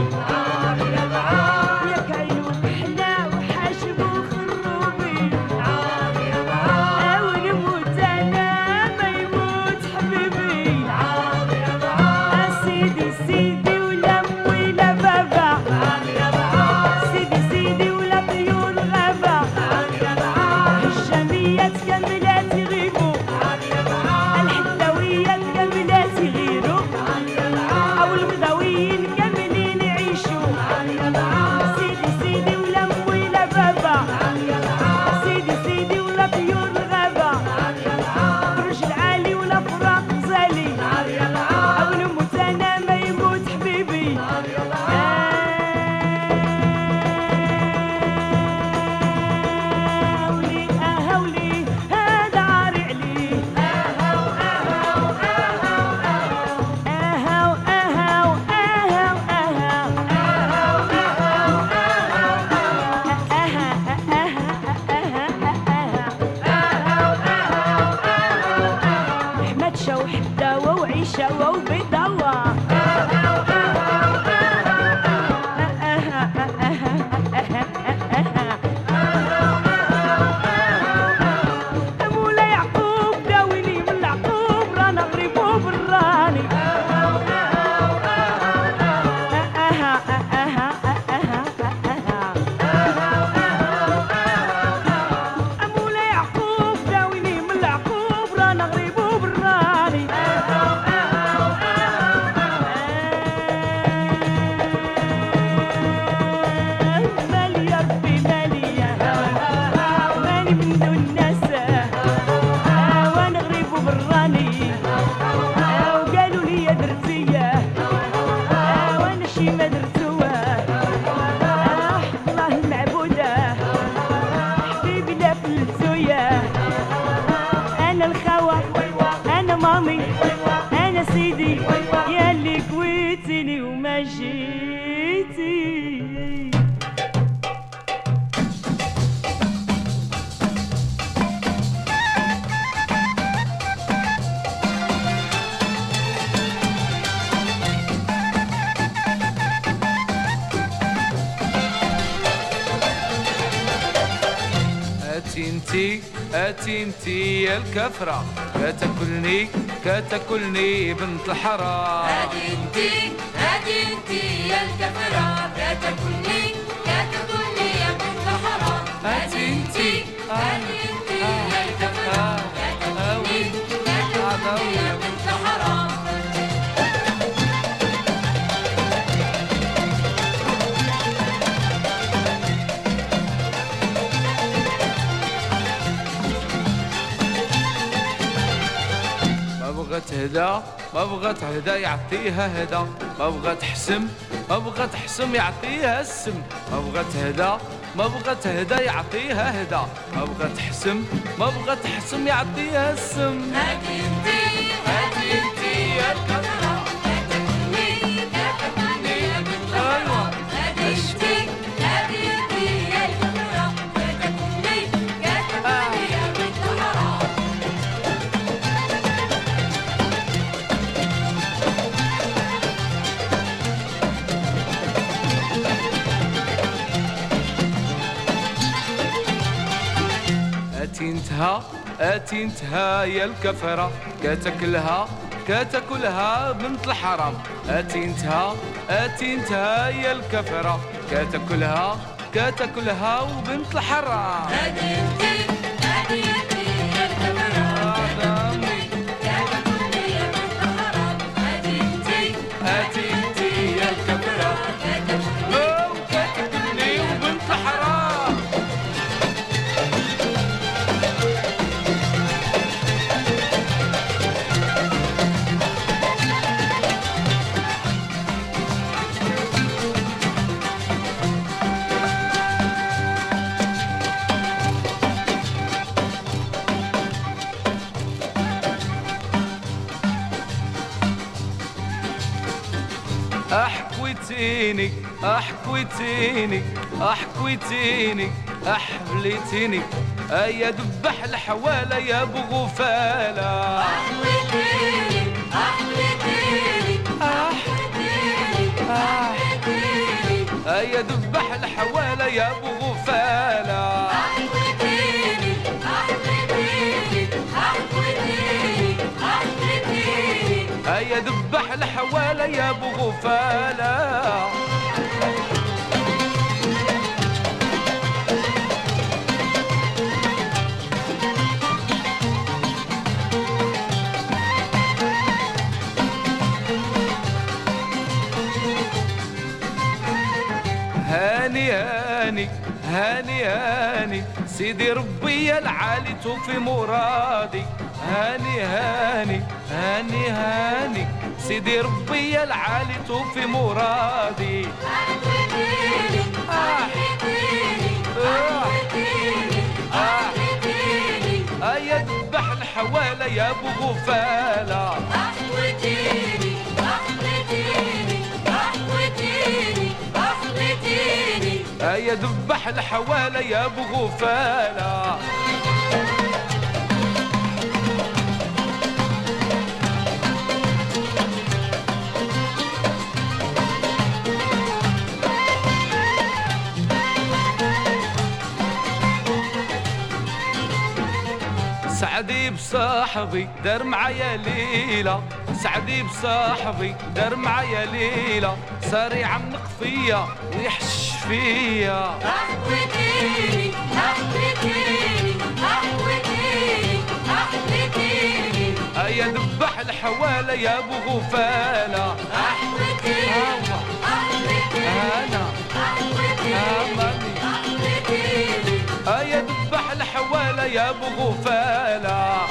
ياك عينو محلى وحاجبو خروبي أو نموت أنا ما يموت حبيبي سيدي سيدي ولا أمي لا بابا سيدي سيدي ولا طيور غابة الشاميات كاملات يغيبوا الحداويات كاملات يغيروا أو الغداويين كاملين يعيشوا سيدي سيدي ولا أمي لا بابا سيدي سيدي ولا طيور الغابة برج العالي ولا فراق غزالي أو نموت أنا ما يموت حبيبي هاولي هاولي هذا عاري عليه أهاو أهاو أهاو أهاو أهاو أهاو أهاو أحمد شو حداوة وعيشة وبيضاوة مولاي يعقوب داويني من العقوب رانا غريبو براني مولاي يعقوب داويني من العقوب رانا غريبو براني مالي يا ربي مالي مالي من دون الناس وانا غريب وبراني وقالوا لي يا درتي وانا شي ما درتو الله المعبودة حبيبي لا فلتويا انا الخوة انا مامي انا سيدي يا اللي كويتني وما جيتي أتي انتي أتي انتي يا الكفرة كتاكلني كتاكلني بنت الحرام هادي انتي هادي انتي يا الكفرة كتاكلني كتاكلني يا بنت الحرام هادي انتي هادي انتي يا الكفرة كتاكلني كتاكلني يا بنت الحرام ما بغات هدا ما بغات هدا يعطيها هدا ما بغات حسم ما بغات حسم يعطيها السم ما بغات هدا ما بغات هدا يعطيها هدا ما بغات حسم ما بغات حسم يعطيها السم هادي انتي هادي انتي يا الكفرة كتاكلني كتاكلني يا بنت الحرام هادي انتي هادي انتي يا الكفرة كتاكلني كتاكلني يا بنت الحرام أتي انتهى أتي انتهى يا الكفرة كتاكلها كتاكلها بنت الحرام أتي انتهى أتي انتهى يا الكفرة كتاكلها كتاكلها وبنت الحرام هادي انتي هادي انتي يا الكفرة كتاكلني يا بنت الحرام هادي انتي أتي انتي يا الكفرة كتاكلني وبنت الحرام أحكويتيني أحكويتيني أحكويتيني أحبليتيني أيا دبح الحوالة يا أبو غفالة أحويتيني أحويتيني يا ابو غفاله أحوتيني أحوتيني أحوتيني أحوتيني هيا دبح الحواله يا ابو غفاله هاني هاني هاني هاني سيدي ربي العالي توفي مرادي هاني هاني هاني هاني سيدي ربي العالي توفي مرادي أحوتيني أحوتيني أحوتيني أحوتيني هيا دبح الحواله يا ابو غفاله أحوتيني أحوتيني أحوتيني أحوتيني هيا دبح الحواله يا ابو غفاله سعدي بصاحبي دار معايا ليلة سعدي بصاحبي دار معايا ليلة صار يعنق فيا ويحش فيا أحوتيني أحوتيني أحوتيني أحوتيني هيا دبح الحواله يا ابو غفاله أحوتيني أحوتيني انا أحوتيني اماني أحوتيني هيا دبح الحواله يا ابو غفاله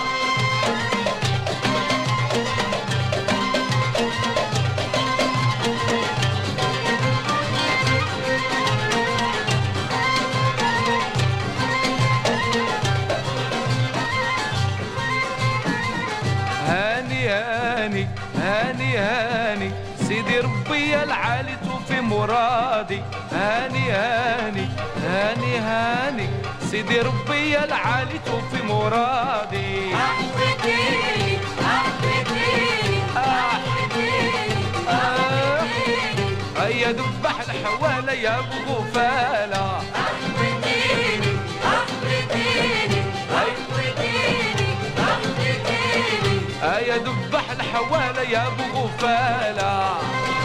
هاني هاني هاني هاني سيدي ربي العالي توفي مرادي هاني هاني هاني هاني سيدي ربي العالي توفي مرادي أحوتيني أحوتيني أحوتيني أحوتيني هيا دبح الحواله يا ابو غفاله أحوتيني أحوتيني أحوتيني أحوتيني هيا دبح الحواله يا ابو غفاله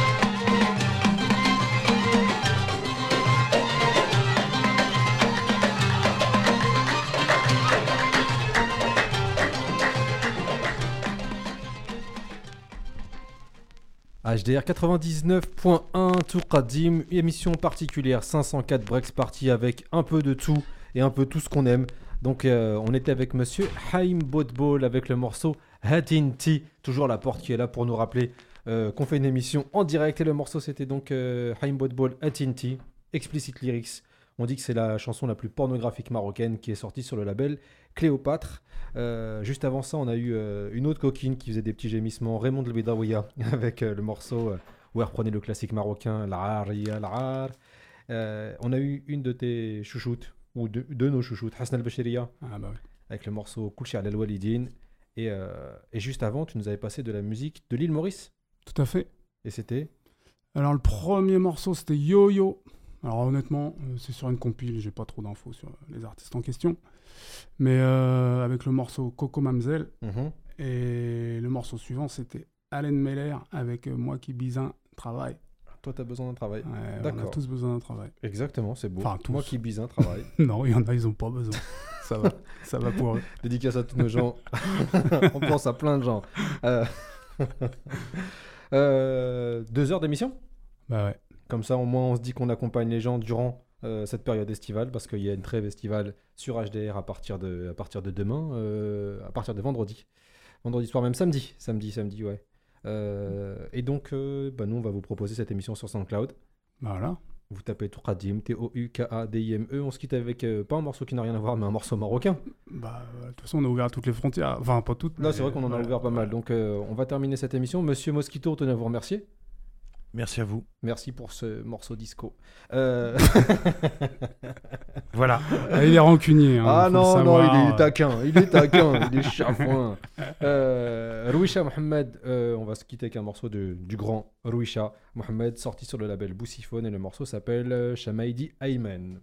H D R quatre-vingt-dix-neuf point un Tour Qadim, émission particulière cinq cent quatre Breaks Party avec un peu de tout et un peu tout ce qu'on aime. Donc euh, on était avec monsieur Haim Bodbol avec le morceau Hatinti, toujours la porte qui est là pour nous rappeler euh, qu'on fait une émission en direct et le morceau c'était donc euh, Haim Bodbol Hatinti, Explicit Lyrics. On dit que c'est la chanson la plus pornographique marocaine qui est sortie sur le label Cléopâtre. Euh, juste avant ça, on a eu euh, une autre coquine qui faisait des petits gémissements, Raymond El Bedaouia, avec euh, le morceau euh, où elle reprenait le classique marocain, L'Aria, L'Ar. Euh, on a eu une de tes chouchoutes, ou de, de nos chouchoutes, Hassan El-Bachiriya, ah bah oui. avec le morceau Koulchi Al Walidine. Et, euh, et juste avant, tu nous avais passé de la musique de l'île Maurice. Tout à fait. Et c'était Alors le premier morceau c'était Yo Yo. Alors honnêtement, euh, c'est sur une compile, j'ai pas trop d'infos sur les artistes en question. Mais euh, avec le morceau Coco Mamzelle. Mm-hmm. Et le morceau suivant c'était Allen Meller avec euh, Moi qui bisin travail. Toi, tu as besoin d'un travail. Ouais, D'accord. on a tous besoin d'un travail. Exactement, c'est beau. Enfin, tous. Moi qui bise un travail. Non, il y en a, ils ont pas besoin. Ça va, ça va pour eux. Dédicace à tous nos gens. On pense à plein de gens. Euh... euh, deux heures d'émission ? Bah ouais. Comme ça, au moins, on se dit qu'on accompagne les gens durant euh, cette période estivale, parce qu'il y a une trêve estivale sur H D R à partir de, à partir de demain, euh, à partir de vendredi. Vendredi soir, même samedi. Samedi, samedi, ouais. Euh, et donc, euh, bah, nous, on va vous proposer cette émission sur SoundCloud. Voilà. Vous tapez Tour Qadim, T O U K A D I M E. On se quitte avec, euh, pas un morceau qui n'a rien à voir, mais un morceau marocain. Bah, de toute façon, on a ouvert toutes les frontières. Enfin, pas toutes. Là, mais... c'est vrai qu'on en a ouais, ouvert pas ouais. mal. Donc, euh, on va terminer cette émission. Monsieur Mosquito, tenez à vous remercier. Merci à vous. Merci pour ce morceau disco. Euh... Voilà. Ah, il est rancunier. Hein, ah non, savoir. non, il est taquin. Il est taquin. il est chafouin. Euh, Rouisha Mohamed, euh, on va se quitter avec un morceau de, du grand Rouisha Mohamed, sorti sur le label Boussiphone, et le morceau s'appelle euh, Shamaidi Ayman.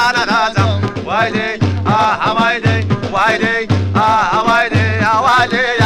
Why, ah, why, ah, why, ah, why,